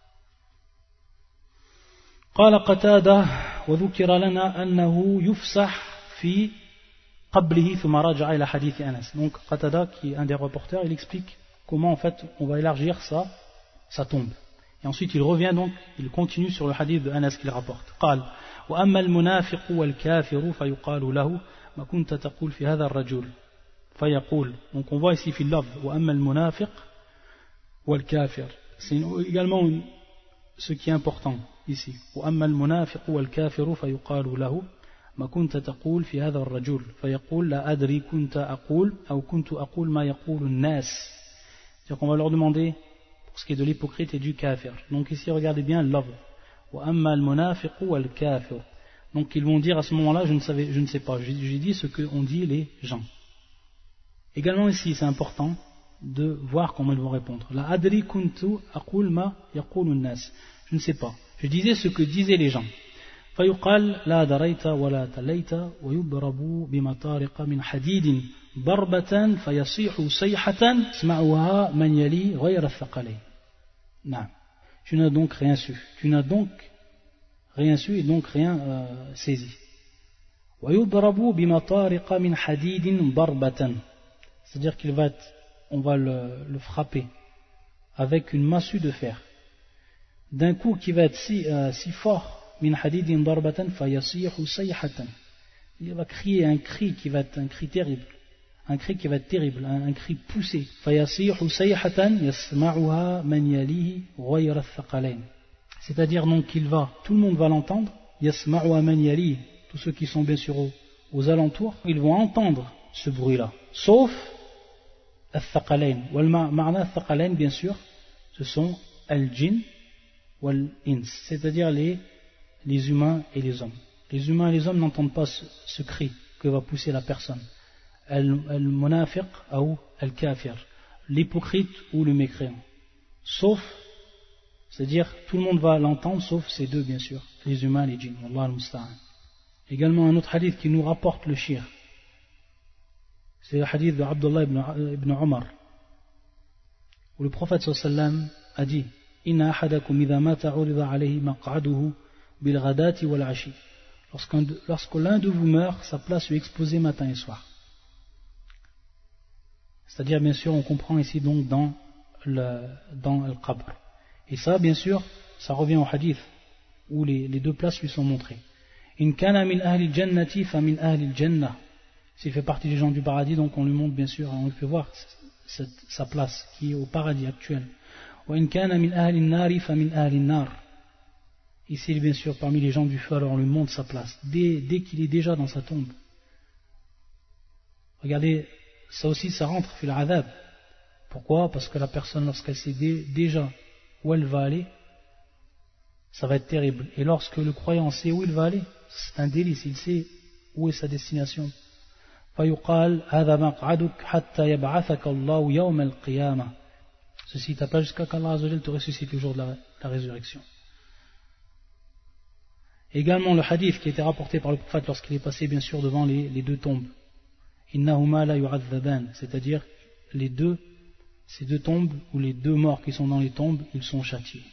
قال قتادة وذكر لنا أنه يفسح في قبله ثم رجع إلى حديث أنس. Donc Qatada, qui est un des reporters, il explique comment en fait on va élargir sa, sa tombe. Et ensuite il revient donc, il continue sur le hadith de Anas qu'il rapporte. قال وأما المنافق والكافر فيقال له ما كنت تقول في هذا الرجل فيقول. Donc on voit ici في اللفظ وأما المنافق والكافر. C'est également une, ce qui est important ici. وأما المنافق والكافر فيقال له ما كنت تقول في هذا الرجل فيقول لا أدري كنت أقول أو كنت أقول ما يقول الناس. C'est-à-dire qu'on va leur demander pour ce qui est de l'hypocrite et du kafir. Donc ici regardez bien l'avre. وأما المنافق والكافر. Donc ils vont dire à ce moment-là, je ne savais, je ne sais pas, j'ai dit ce qu'ont dit les gens. Également ici c'est important de voir comment ils vont répondre. La adri kuntu aqul ma yaqulu an-nas. Je ne sais pas. Je disais ce que disaient les gens. فيقال لا دريت ولا تليت ويضرب بمطارق من حديد ضربة فيصيح صيحة يسمعها من يلي غير الثقلين. نعم. Tu n'as donc rien su. Tu n'as donc rien su et donc rien euh, saisi. ويضرب بمطارق من حديد ضربة. C'est-à-dire qu'il va être, on va le, le frapper avec une massue de fer. D'un coup qui va être si, euh, si fort. Min hadidin darbatan fayasihu sayhatan. Il va crier un cri qui va être un cri terrible, un cri qui va être terrible, un, un cri poussé. Fayasihu sayhatan yasma'uha man yalihi ghayra ath-thaqalain. C'est-à-dire donc qu'il va, tout le monde va l'entendre. Yasma'uha man yalihi, tous ceux qui sont bien sûr aux, aux alentours, ils vont entendre ce bruit-là, sauf ath-thaqalain. Wal ma'na ath-thaqalain, bien sûr, ce sont al-jinn wal-ins, c'est-à-dire les les humains et les hommes. Les humains et les hommes n'entendent pas ce, ce cri que va pousser la personne. Al-munafiq ou al-kafir, l'hypocrite ou le mécréant. Sauf, c'est-à-dire tout le monde va l'entendre sauf ces deux bien sûr, les humains et les djinns. Wallah al-musta'an. Également un autre hadith qui nous rapporte le shir. C'est le hadith de Abdullah ibn, ibn Omar, où le prophète sallallahu alayhi wa sallam a dit Inna ahadakum idha mata urida alayhi maq'aduhu bilghadati wal ashi. Lorsque l'un de vous meurt, sa place lui est exposée matin et soir. C'est-à-dire, bien sûr, on comprend ici donc dans le, dans le qabr. Et ça, bien sûr, ça revient au hadith où les, les deux places lui sont montrées. In kana min ahli jannati fa min ahli jannah. S'il fait partie des gens du paradis, donc on lui montre bien sûr, on lui fait voir cette, sa place qui est au paradis actuel. Wa in kana min ahli nari fa min ahli nar. Ici, bien sûr, parmi les gens du feu, alors on lui montre sa place, dès, dès qu'il est déjà dans sa tombe. Regardez, ça aussi, ça rentre, fil adab. Pourquoi? Parce que la personne, lorsqu'elle sait dé, déjà où elle va aller, ça va être terrible. Et lorsque le croyant sait où il va aller, c'est un délice, il sait où est sa destination. فَيُقَالْ هَذَا مَقْعَدُكَ حَتَّى يَبْعَثَكَ اللَّهُ يَوْمَ الْقِيَامَةِ. Ceci t'appelle jusqu'à qu'Allah Azza wa Jal te ressuscite le jour de la, la résurrection. Également le hadith qui a été rapporté par le prophète lorsqu'il est passé bien sûr devant les, les deux tombes. إِنَّهُمَا لَا يُعَذَّبَانِ, c'est-à-dire les deux, ces deux tombes ou les deux morts qui sont dans les tombes, ils sont châtiés.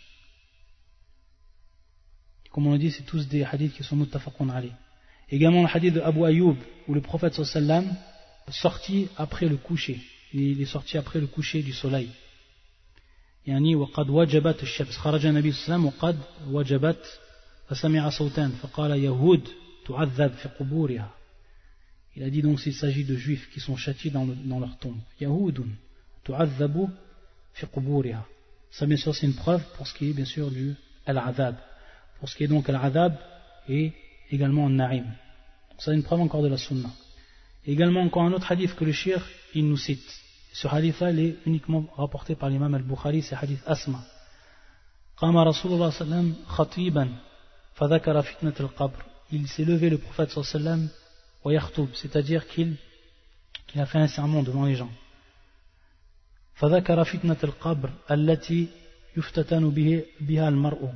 Comme on l'a dit, c'est tous des hadiths qui sont muttafaqun alayh. Également le hadith de Abu Ayyub où le prophète sallallahu alayhi wa sallam est sorti après le coucher. Il est sorti après le coucher du soleil. يعني وقد وجبت الشمس خرج النبي صلى الله عليه وسلم وقد وجبت فسمع صوتان فقال يهود تعذب في قبورها. Il a dit donc s'il s'agit de juifs qui sont châtiés dans, le, dans leur tombe. Yahoudun tu'adhabu fi quburiha. Ça bien sûr c'est une preuve pour ce qui est bien sûr du al-adhab. Pour ce qui est donc al-adhab et également al-na'im. Donc ça c'est une preuve encore de la sunna. Et également encore un autre hadith que le shir il nous cite. Ce hadith-là il est uniquement rapporté par l'imam al-Bukhari, c'est hadith Asma. Qama Rasulullah sallam khatiban fadhakara fitnat al-qabr. Il s'est levé le prophète sallam wa yakhtoub, c'est-à-dire qu'il, qu'il a fait un sermon devant les gens. Fadhakara fitnat al-qabr allati yuftatanu biha al-mar'u.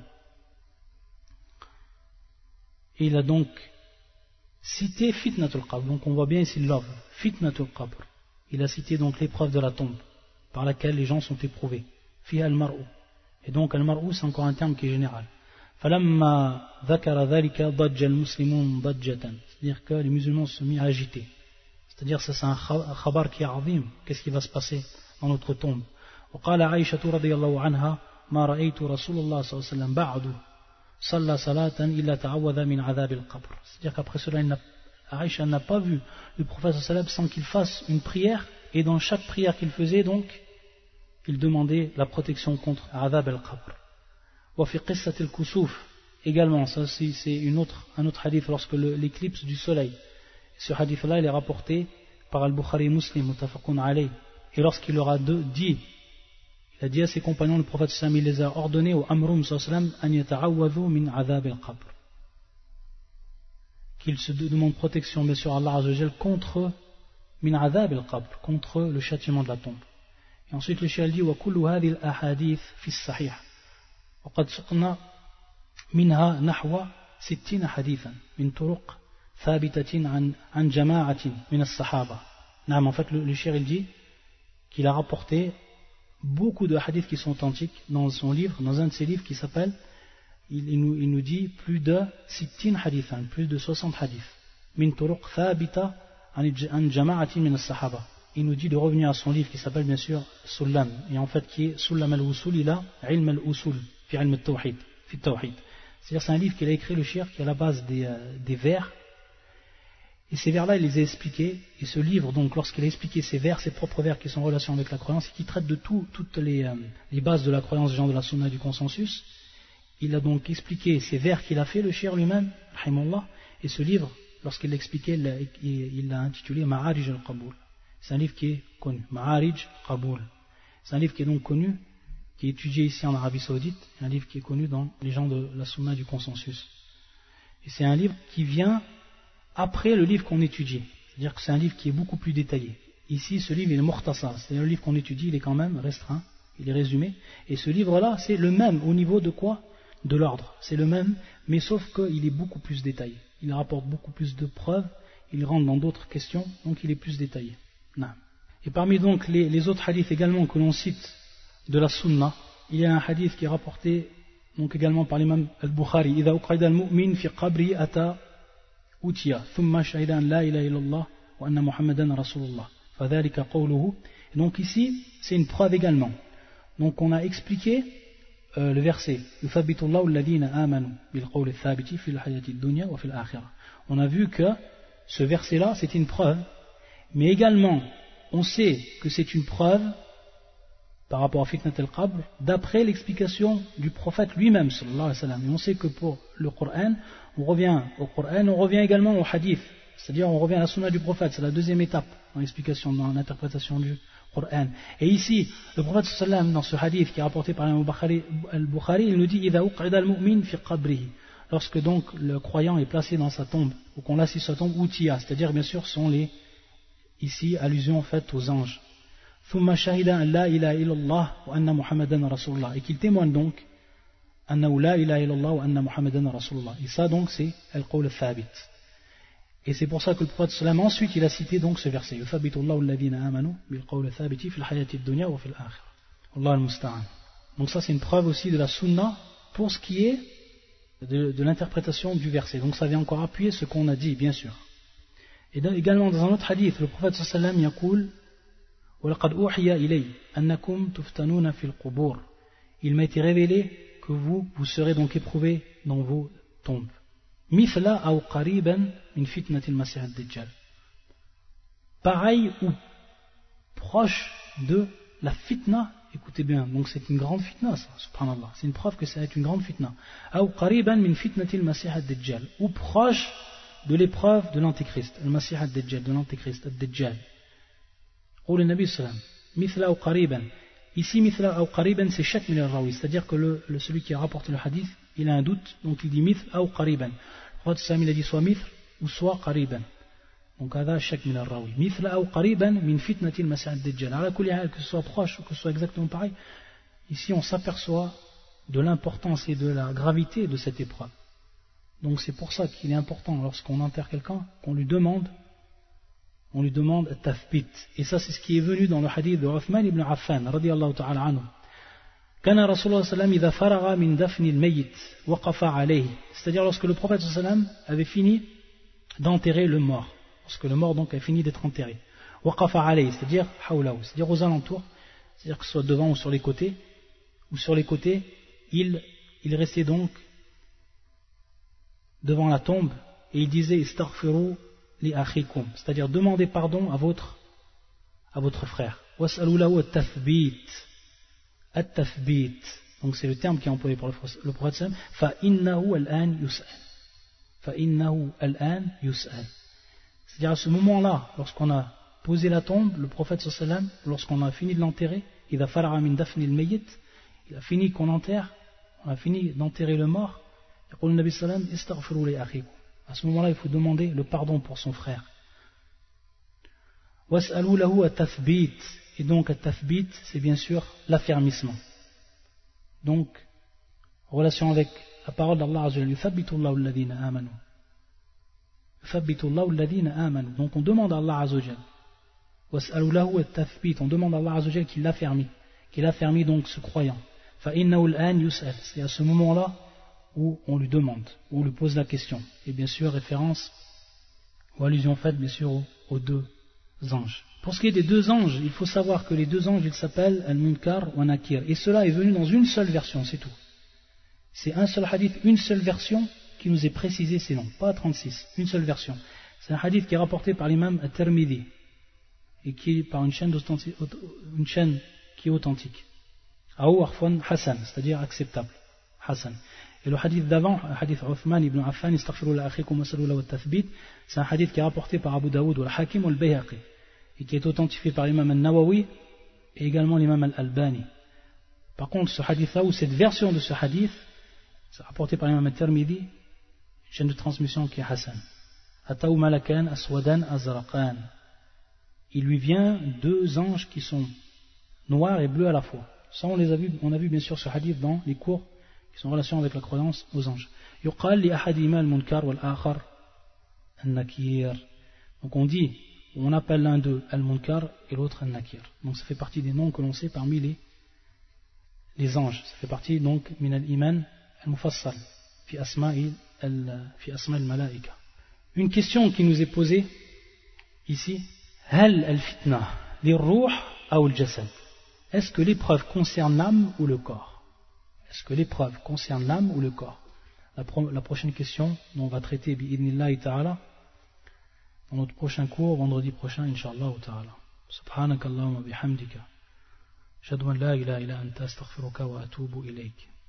Il a donc cité fitnatul qabr. Donc on voit bien ici l'œuvre, fitnatul qabr. Il a cité donc l'épreuve de la tombe par laquelle les gens sont éprouvés. Fiha al-mar'u. Et donc al-mar'u c'est encore un terme qui est général. Falamma dhakara dhalika dajja al-muslimun dajjatan. C'est-à-dire que les musulmans se sont mis à agiter. C'est-à-dire ça c'est un khabar qui est azim. Qu'est-ce qui va se passer dans notre tombe? وقال عائشة رضي الله عنها ما رأيت رسول الله صلى الله عليه وسلم بعد صلى صلاة إلا تعوذ من عذاب القبر. C'est-à-dire qu'après cela Aïcha n'a pas vu le prophète sallallahu sans qu'il fasse une prière, et dans chaque prière qu'il faisait donc il demandait la protection contre Adhab al-Qabr. Wa fi qissat al-kusuf également, ça c'est, c'est une autre, un autre hadith lorsque le, l'éclipse du soleil. Ce hadith là il est rapporté par al-Bukhari Muslim muttafaqun alayh. Et lorsqu'il leur a dit, il a dit à ses compagnons, le prophète sallallahu il les a ordonnés au Amrum sallallahu an yata'awwadhu min Adhab al-Qabr, qu'il se demande protection bien sûr à Allah Azza wa Jal contre min adhab al-qabr, contre le châtiment de la tombe. Et ensuite le cheikh dit wa kullu hadhihi al-ahadith fi as-sahih wa qad suqna minha nahwa sittina hadithan min turuq thabitatin an an jama'atin min as-sahaba. Naam, en fait le, le cheikh il dit qu'il a rapporté beaucoup de hadiths qui sont authentiques dans son livre, dans un de ses livres qui s'appelle Il, il, nous, il nous dit plus de sittin hadithan, plus de soixante hadiths. Min turuq thabita an jama'atin min as-sahaba. Il nous dit de revenir à son livre qui s'appelle bien sûr Sullam, et en fait qui est Sullam al-Usul ila ilm al-Usul fi ilm al-Tawhid, fi al-Tawhid. C'est-à-dire c'est un livre qu'il a écrit le cheikh qui est à la base des, euh, des vers. Et ces vers-là, il les a expliqués. Et ce livre, donc, lorsqu'il a expliqué ces vers, ses propres vers qui sont en relation avec la croyance, et qui traitent de tout, toutes les, euh, les bases de la croyance des gens de la sunna et du consensus, il a donc expliqué ces vers qu'il a fait, le cheikh lui-même, rahimahullah, et ce livre, lorsqu'il l'a expliqué, il l'a intitulé Ma'arij al-Qaboul. C'est un livre qui est connu, Ma'arij al-Qaboul. C'est un livre qui est donc connu, qui est étudié ici en Arabie Saoudite, un livre qui est connu dans les gens de la sunna du consensus. Et c'est un livre qui vient après le livre qu'on étudie. C'est-à-dire que c'est un livre qui est beaucoup plus détaillé. Ici, ce livre, il est mukhtasar, c'est-à-dire le livre qu'on étudie, il est quand même restreint, il est résumé. Et ce livre-là, c'est le même au niveau de quoi? De l'ordre. C'est le même, mais sauf qu'il est beaucoup plus détaillé. Il rapporte beaucoup plus de preuves, il rentre dans d'autres questions, donc il est plus détaillé. Non. Et parmi donc les, les autres hadiths également que l'on cite de la sunna, il y a un hadith qui est rapporté donc également par l'imam al-Bukhari. إذا أقعد المؤمن في قبره أتى أوتي ثم شهد أن لا إله إلا الله وأن محمدا رسول الله فذلك قوله. Et donc ici, c'est une preuve également. Donc on a expliqué euh, le verset يثبت الله الذين آمنوا بالقول الثابت في الحياة الدنيا وفي الآخرة. On a vu que ce verset-là, c'est une preuve, mais également, on sait que c'est une preuve par rapport à Fitnat al-Qabr, d'après l'explication du prophète lui-même, sallallahu alayhi wa sallam. Et on sait que pour le Coran, on revient au Coran, on revient également au hadith, c'est-à-dire on revient à la sunna du prophète, c'est la deuxième étape dans l'explication, dans l'interprétation du Qur'an. Et ici, le prophète sallam, dans ce hadith qui est rapporté par Al-Bukhari, il nous dit إِذَا أُقْعِدَ الْمُؤْمِنِ فِي قَبْرِهِ. Lorsque donc le croyant est placé dans sa tombe, ou qu'on l'assied sur sa tombe, Outia, c'est-à-dire bien sûr sont les, ici, allusions faites aux anges. ثُمَّ شَهِدَ أَنْ لَا إِلَهَ إِلَّا اللَّهُ وَأَنَّ مُحَمَّدًا رَسُولُ اللَّهِ. Et qu'il témoigne donc أَنَّهُ لَا إِلَهَ إِلَّا اللَّهُ وَأَنَّ مُحَمَّدًا رَسُولُ اللَّهِ. Et ça donc c'est Al-Qawl Al-Thabit. Et c'est pour ça que le prophète sallam ensuite il a cité donc ce verset يُثَبِّتُ اللَّهُ الَّذِينَ آمَنُوا بِالْقَوْلِ الثَّابِتِ فِي الْحَيَاةِ الدُّنْيَا وَفِي الْآخِرَةِ. Wallahu al-musta'an. Donc ça c'est une preuve aussi de la sunna pour ce qui est de, de l'interprétation du verset. Donc ça vient encore appuyer ce qu'on a dit, bien sûr. Et dans, également dans un autre hadith, le prophète sallam yaqul وَلَقَدْ أُوحِيَ إِلَيْهِ أَنَّكُمْ تُفْتَنُونَ فِي الْقُبُورِ. Il m'a été révélé que vous, vous serez donc éprouvés dans vos tombes. مِثْلَ أَوْ قَرِيبًا مِنْ فِتْنَةِ الْمَسِيحِ الدَّجَّالِ. Pareil ou proche de la fitna. Écoutez bien, donc c'est une grande fitna, ça, subhanallah. C'est une preuve que ça va être une grande fitna. Ou qariban min fitnati al-Masih ad-Dajjal. Ou proche de l'épreuve de l'Antéchrist. Al-Masih ad-Dajjal, de l'Antéchrist, ad-Dajjal. Ou le Nabi sallam. Mithla ou qariban. Ici, mithla ou qariban, c'est shak min al-rawi. C'est-à-dire que le, le, celui qui a rapporté le hadith, il a un doute, donc il dit mithla ou qariban. Le prophète sallam, il a dit soit mithl ou soit qariban. Donc, هذا شك من الراوي. مثل أو قريبا من فتنة المسيح الدجال. على كل حال, que ce soit proche ou que ce soit exactement pareil, ici on s'aperçoit de l'importance et de la gravité de cette épreuve. Donc c'est pour ça qu'il est important lorsqu'on enterre quelqu'un qu'on lui demande, on lui demande tathbit. Et ça c'est ce qui est venu dans le hadith de Uthman ibn Affan radiyallahu ta'ala anhu. كان رسول الله صلى الله عليه وسلم إذا فرغ من دفن الميت وقف عليه. C'est-à-dire lorsque le prophète صلى الله عليه وسلم avait fini d'enterrer le mort. Lorsque le mort donc a fini d'être enterré. Waqafa alayhi, c'est-à-dire hawlaou, c'est-à-dire aux alentours, c'est-à-dire que ce soit devant ou sur les côtés, ou sur les côtés, il, il restait donc devant la tombe et il disait istaghfiru li akhikum, c'est-à-dire demandez pardon à votre, à votre frère. Was'alu lahu at-tathbit, at-tathbit, donc c'est le terme qui est employé par le prophète sallam, fa innahu al-an yus'al, fa innahu al-an yus'al. C'est-à-dire à ce moment-là, lorsqu'on a posé la tombe, le prophète sallam, lorsqu'on a fini de l'enterrer, il a fara'a min dafni al-mayyit, il a fini qu'on enterre, on a fini d'enterrer le mort, يقول النبي صلى الله عليه وسلم استغفروا لأخيكم. À ce moment-là, il faut demander le pardon pour son frère. واسألوا له التثبيت. Et donc, التثبيت, c'est bien sûr l'affermissement. Donc, en relation avec la parole d'Allah Azza wa Jalla, يثبت الله الذين آمنوا. يثبت الله الذين آمنوا. Donc, on demande à Allah Azza wa Jalla. واسألوا له التثبيت. On demande à Allah Azza wa Jalla qu'il l'affermit, qu'il affermit donc ce croyant. فإنه الآن يسأل. C'est à ce moment-là où on lui demande, où on lui pose la question. Et bien sûr, référence ou allusion faite bien sûr aux, aux deux anges. Pour ce qui est des deux anges, il faut savoir que les deux anges, ils s'appellent Al-Munkar ou An-Nakir. Et cela est venu dans une seule version, c'est tout. C'est un seul hadith, une seule version qui nous est précisée, c'est non, pas trente-six, une seule version. C'est un hadith qui est rapporté par l'imam At-Tirmidhi et qui est par une chaîne, une chaîne qui est authentique. Aou Arfan Hassan, c'est-à-dire acceptable. Hassan. Et le hadith d'avant, le hadith Uthman ibn Affan, istaghfiru la akhikum wa sallu wa tathbit, c'est un hadith qui est rapporté par Abu Daoud ou al-Hakim ou al-Bayhaqi et qui est authentifié par l'imam al-Nawawi et également l'imam al-Albani. Par contre, ce hadith-là ou cette version de ce hadith, c'est rapporté par l'imam al-Tirmidhi, une chaîne de transmission qui est Hassan. Ataou malakan aswadan azraqan. Il lui vient deux anges qui sont noirs et bleus à la fois. Ça, on les a vus, on a vu bien sûr ce hadith dans les cours qui sont en relation avec la croyance aux anges. Yuqal li ahadima al-munkar wal-akhar an-nakir. Donc on dit, on appelle l'un d'eux al-munkar et l'autre an-nakir. Donc ça fait partie des noms que l'on sait parmi les, les anges. Ça fait partie donc min al-iman al-mufassal fi asma'i al-malaika. Une question qui nous est posée ici, hal al-fitna li-ruh ou al-jasad? Est-ce que l'épreuve concerne l'âme ou le corps? Est-ce que l'épreuve concerne l'âme ou le corps? La, pro la prochaine question dont on va traiter bi'idnillahi ta'ala dans notre prochain cours, vendredi prochain, incha'Allah ta'ala. Subhanakallahumma bihamdika. Ashhadu an la ilaha illa anta astaghfiruka wa atubu ilayk.